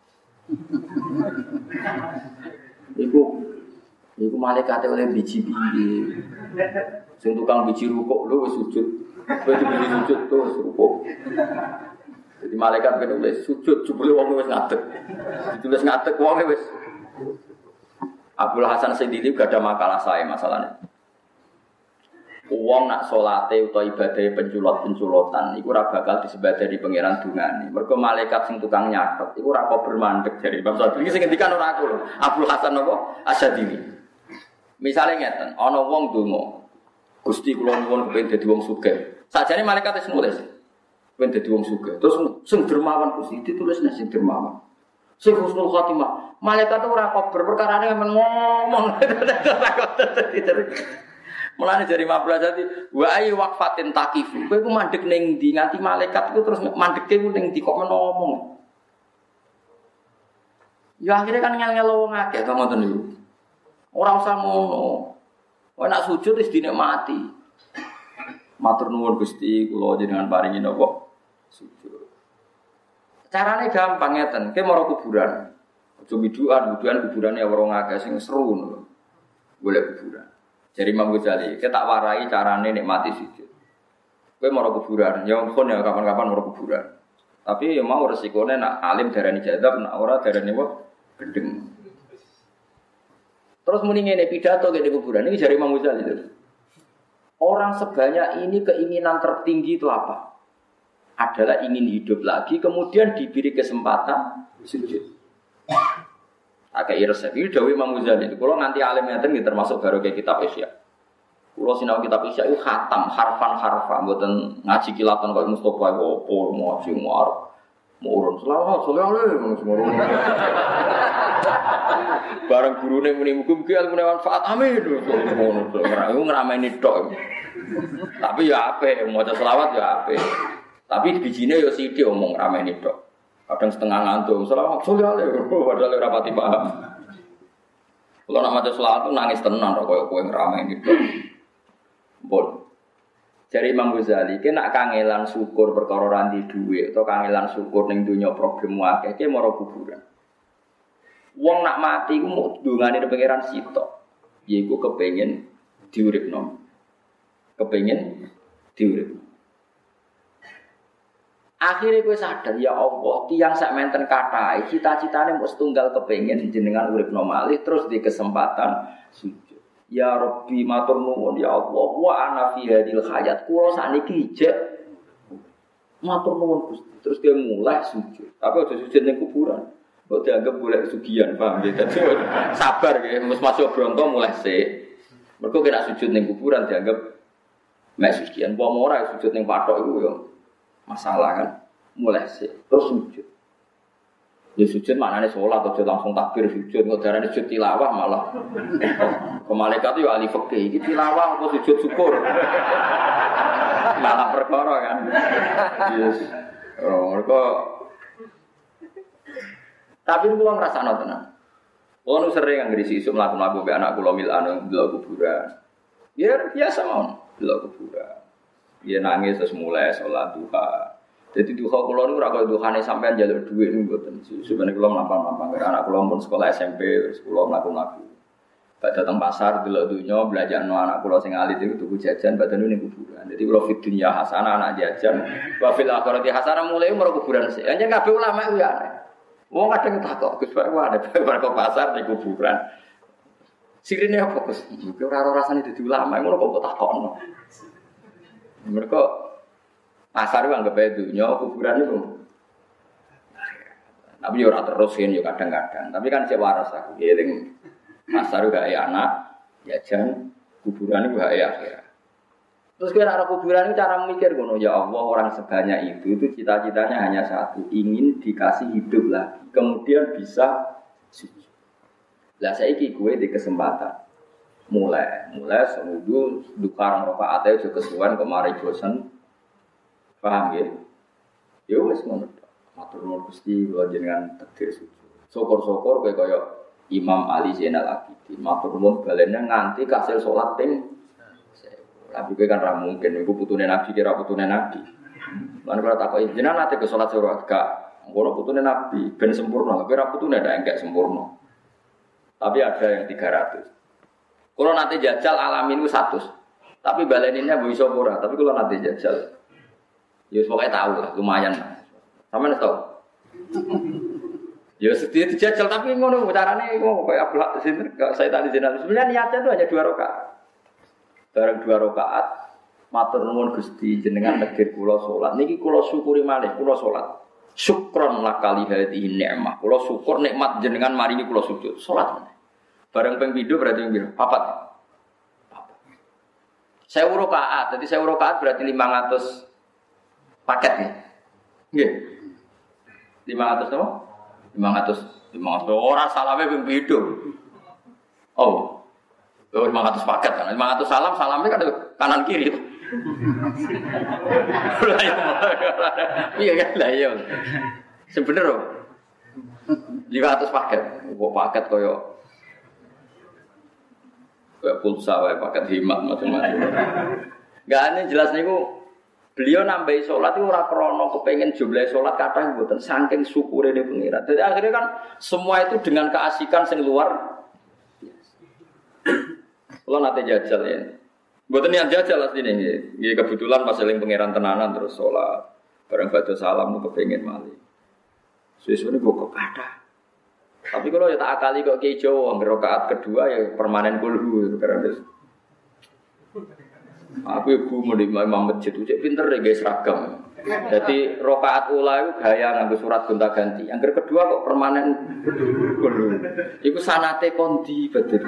Iku malaikate oleh biji piye. Sing tukang biji rukuk lho wis sujud. Kowe biji sujud terus rukuk. Jadi malaikat ben oleh sujud jebule wong wis ngadeg. Ditulis ngadeg wong wis. Abdul Hasan Sendili gak ada makalah saya masalahnya. Wong nak salate utawa ibadah penculot-penculotan iku ora bakal disebadani pangeran dungane. Mergo malaikat sing tukang nyatet iku ora kok bermandeg jare Imam Syafi'i sing ngendikan ora aku lho. Abdul Hasan apa? Asyadili. Misale ngeten, ana wong donga. Gusti kula nuwun kepengin dadi wong sugih. Sakjane malaikat wis nulis. Kepengin dadi wong sugih. Terus sing dermawan Gusti ditulisne sing dermawan. Sing husnul khotimah. Malaikat ora kok berperkarane men ngomong. Mulane jari mabla dadi wa ay waqfatin taqifu. Kowe ku mandeg ning ndi nganti malaikat iku terus mandeke ku ning ndi kok ngomong. Ya akhirnya kan ngel-ngel wong akeh to ngoten niku. Ora usah ngono. Kowe nak sujud wis dinikmati. Matur nuwun Gusti, kula jenengan paringi napa? Sujud. Carane gampang ngeten, kowe maro kuburan. Aja biduan kuburane wong akeh sing seru ngono. Golek kuburan. Jadi Imam Ghazali, kita tak warai carane nikmati sujud. Kowe maro kuburan, ya kon ya kapan-kapan maro kuburan. Tapi ya mau resikone nak alim darani jadab, nak ora darani apa gendeng. Terus muni ngene pidato ke kuburan ini jari Imam Ghazali itu. Orang sebanyak ini keinginan tertinggi itu apa? Adalah ingin hidup lagi, kemudian diberi kesempatan sujud. Agak resep ini dawuh Imam Ghazali itu. Kalau nanti alim ngeten nggih termasuk baru kayak kitab Isya. Kalau sinau kitab Isya itu khatam harfan, mboten ngaji kilatan kaya Mustofa opo ngaji muarep. Murun selawat ngono semurun. Bareng gurune muni mugi-mugi ilmune manfaat amin. Ngono to. Ngrameni tok. Tapi ya apik, maca selawat ya apik. Tapi bijine ya sithik omong ngrameni tok. Kadang setengah ngantuk, selawat padahal ora pati paham. Kalau nak maca selawat nangis tenan kok koyo ngrameni tok. Bon. Dari Imam Ghazali, kena nak kangelan syukur perkara ranti duit atau kangelan syukur ning dunya problem akeh, ki mara kuburan. Wong nak mati ku mau dungane pangeran sitok. Yaiku kepengin diuripno. Kepengin diuripno. Akhire kowe sadar ya Allah, tiyang sak menten kathah, cita-citane mung setunggal kepengin jenengan uripno malih terus di kesempatan sujud. Ya Rabbi matur nuwun ya Allah wa ana fi hadil hayat kula sakniki ijek matur nuwun Gusti terus dia mulai sujud tapi aja sujud ning kuburan kok dianggap golek sugihan paham ya dadi sabar nggih mesti masuk bronto mulai sik mergo kena sujud ning kuburan dianggap mek sugihan apa ora sujud ning pathok iku ya masalah kan mulai sik terus sujud ya sujud maknane salat aja langsung takbir sujud kok darane sujud tilawah malah ke malaikat yo ahli fikih iki tilawah apa sujud syukur malah perkara kan yes mereka tapi kula ngrasakno tenan kula sering anggere isu mlaku-mlaku mbek anak kula milan ndelok kuburan ya biasa mawon ndelok kuburan ya nangis terus mulai salat duha. Jadi duha kula niku ora kaya duhane sampean njaluk dhuwit niku mboten. Sebenarnya kula mlampah-mlampah karo anak kula pun sekolah SMP, terus kula mlaku-mlaku. Bak dateng pasar delok donya belajarno anak kula sing alit iku tuku jajan badan ning kuburan. Jadi kula fid dunya hasanah anak jajan, wa fil akhirati hasanah mulai umur kuburan sik. Anjen kabeh ulama ku ya aneh. Wong kadang takok, Gus Pak wae bar kok pasar ning kuburan. Sirine apa Gus? Iki ora rasane dadi ulama ngono kok takokno. Mereka pasar itu anggap aja dunia, kuburan itu. Tapi ya orang terusin ya kadang-kadang. Tapi kan saya waras aku. Giling pasar itu gak anak, jajan, kuburan itu gak akhirat. Terus kira arah kuburan itu cara mikir, ya Allah orang sebanyak itu cita-citanya hanya satu, ingin dikasih hidup lagi. Kemudian bisa sujud. Lah saiki gue di kesempatan. Mulai semudu dukarang rakaate aja kesuwen kemari bosen. Paham ya? Ya wis ngono. Matur nuwun Gusti kula jenengan takdir sujud. Syukur-syukur kaya Imam Ali Zainal Abidin. Matur nuwun balene nganti kasil salat ping 1000. Tapi kan ra mungkin iku putune Nabi kira putune Nabi. Lan kula takoki jenengan ate ke salat surat gak ngono putune Nabi ben sempurna. Tapi ra putune ndak enggak sempurna. Tapi ada yang 300. Kalau nanti jajal alamin itu 100. Tapi baleninnya bisa ora. Tapi kalau nanti jajal, ya pokoknya tahu lah, lumayan. Sampeyan tahu. Ya sedih dijajal tapi ngono carane ngono kayak Abdullah sinten saya tadi jenengan. Sebenarnya niatnya itu hanya 2 rakaat. Bareng 2 rakaat matur nuwun Gusti jenengan negir kula salat. Niki kula syukuri malih kula salat. Syukron lakali hadhihi nikmah. Kula syukur nikmat jenengan maringi kula sujud. Salat. Bareng ping pindho berarti piro? 4. 1000 rakaat. Jadi 1000 rakaat berarti 500 paket ya. Nggih. 500 apa? 500 ora salame ping pindho. Oh. 500 paket kan. 500 salamnya kan kanan kiri. Iya kan lah iya. Sebenernya 500 paket. Kok paket koyo kayak pulsa, paket himat macam-macam. Gak aneh jelas niku Beliau nambahi sholat itu ora krana kepengin jumlah sholat kathah mboten saking syukure ne pengira. Jadi akhirnya kan semua itu dengan keasikan sing luar biasa. Kalau nate jajal ya. Mboten yang jajal asline nggih. Nggih kebetulan pas eling pangeran tenanan terus sholat. Bareng badhe salam kepengin malih. Sesune kok kathah. Tapi kalau ya tak akali kok Ki Jawa rakaat kedua ya permanen kulhu karena aku ibu mau di imam masjid itu pinter deh guys seragam. Jadi rokaat ula itu gaya nganggo surat gonta-ganti. Yang kedua kok permanen kulhu. Iku sanate kondi betul.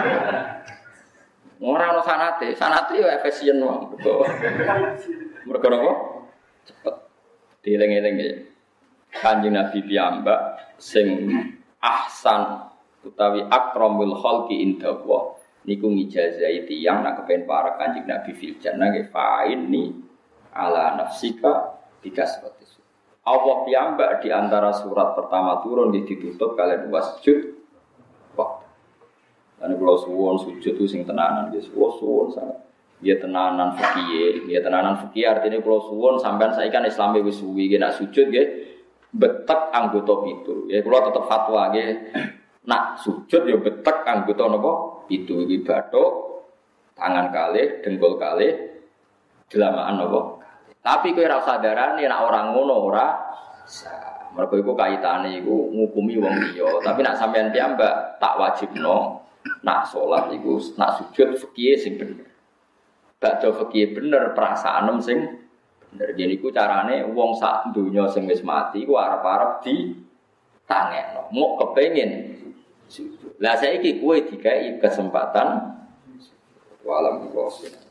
Ora ono sanate yo efisien wae. Mergo napa? Cepet. Dieling-eling ya. Kanjeng Nabi piyambak sing ahsan utawi akramul khalqi indallah. Niku ngijazai tiyang nak kepen para Kanjeng Nabi fil jannah nggih fa'inni ala nafsika bikasratis. Allah piyambak di antara surat pertama turun nggih ditutup kalian wasjud waktu. Lan kula suwun sujud itu sing tenanan nggih suwun sangat. Ya tenanan fikih, ya tenanan fikih artinya kula suwun sampean saiki kan Islame wis suwi nggih nak sujud nggih betek anggota pitu. Ya kula tetep fatwa nggih nak sujud ya betek anggota napa? Itu iki bathuk tangan kalih, dengkul kalih, delamaan napa. Tapi kowe ora usah darani nek ora ngono ora sah. Mergo iku kaitane iku ngukumi wong liya. Tapi nek sampean piyambak tak wajibno nak salat iku nak sujud fikih sing bener. Bakda fikih bener perasaan sing bener. Yen iku carane wong sak donya sing wis mati iku arep-arep ditangekno. Mok kepengin lah saiki kowe dikai kesempatan walam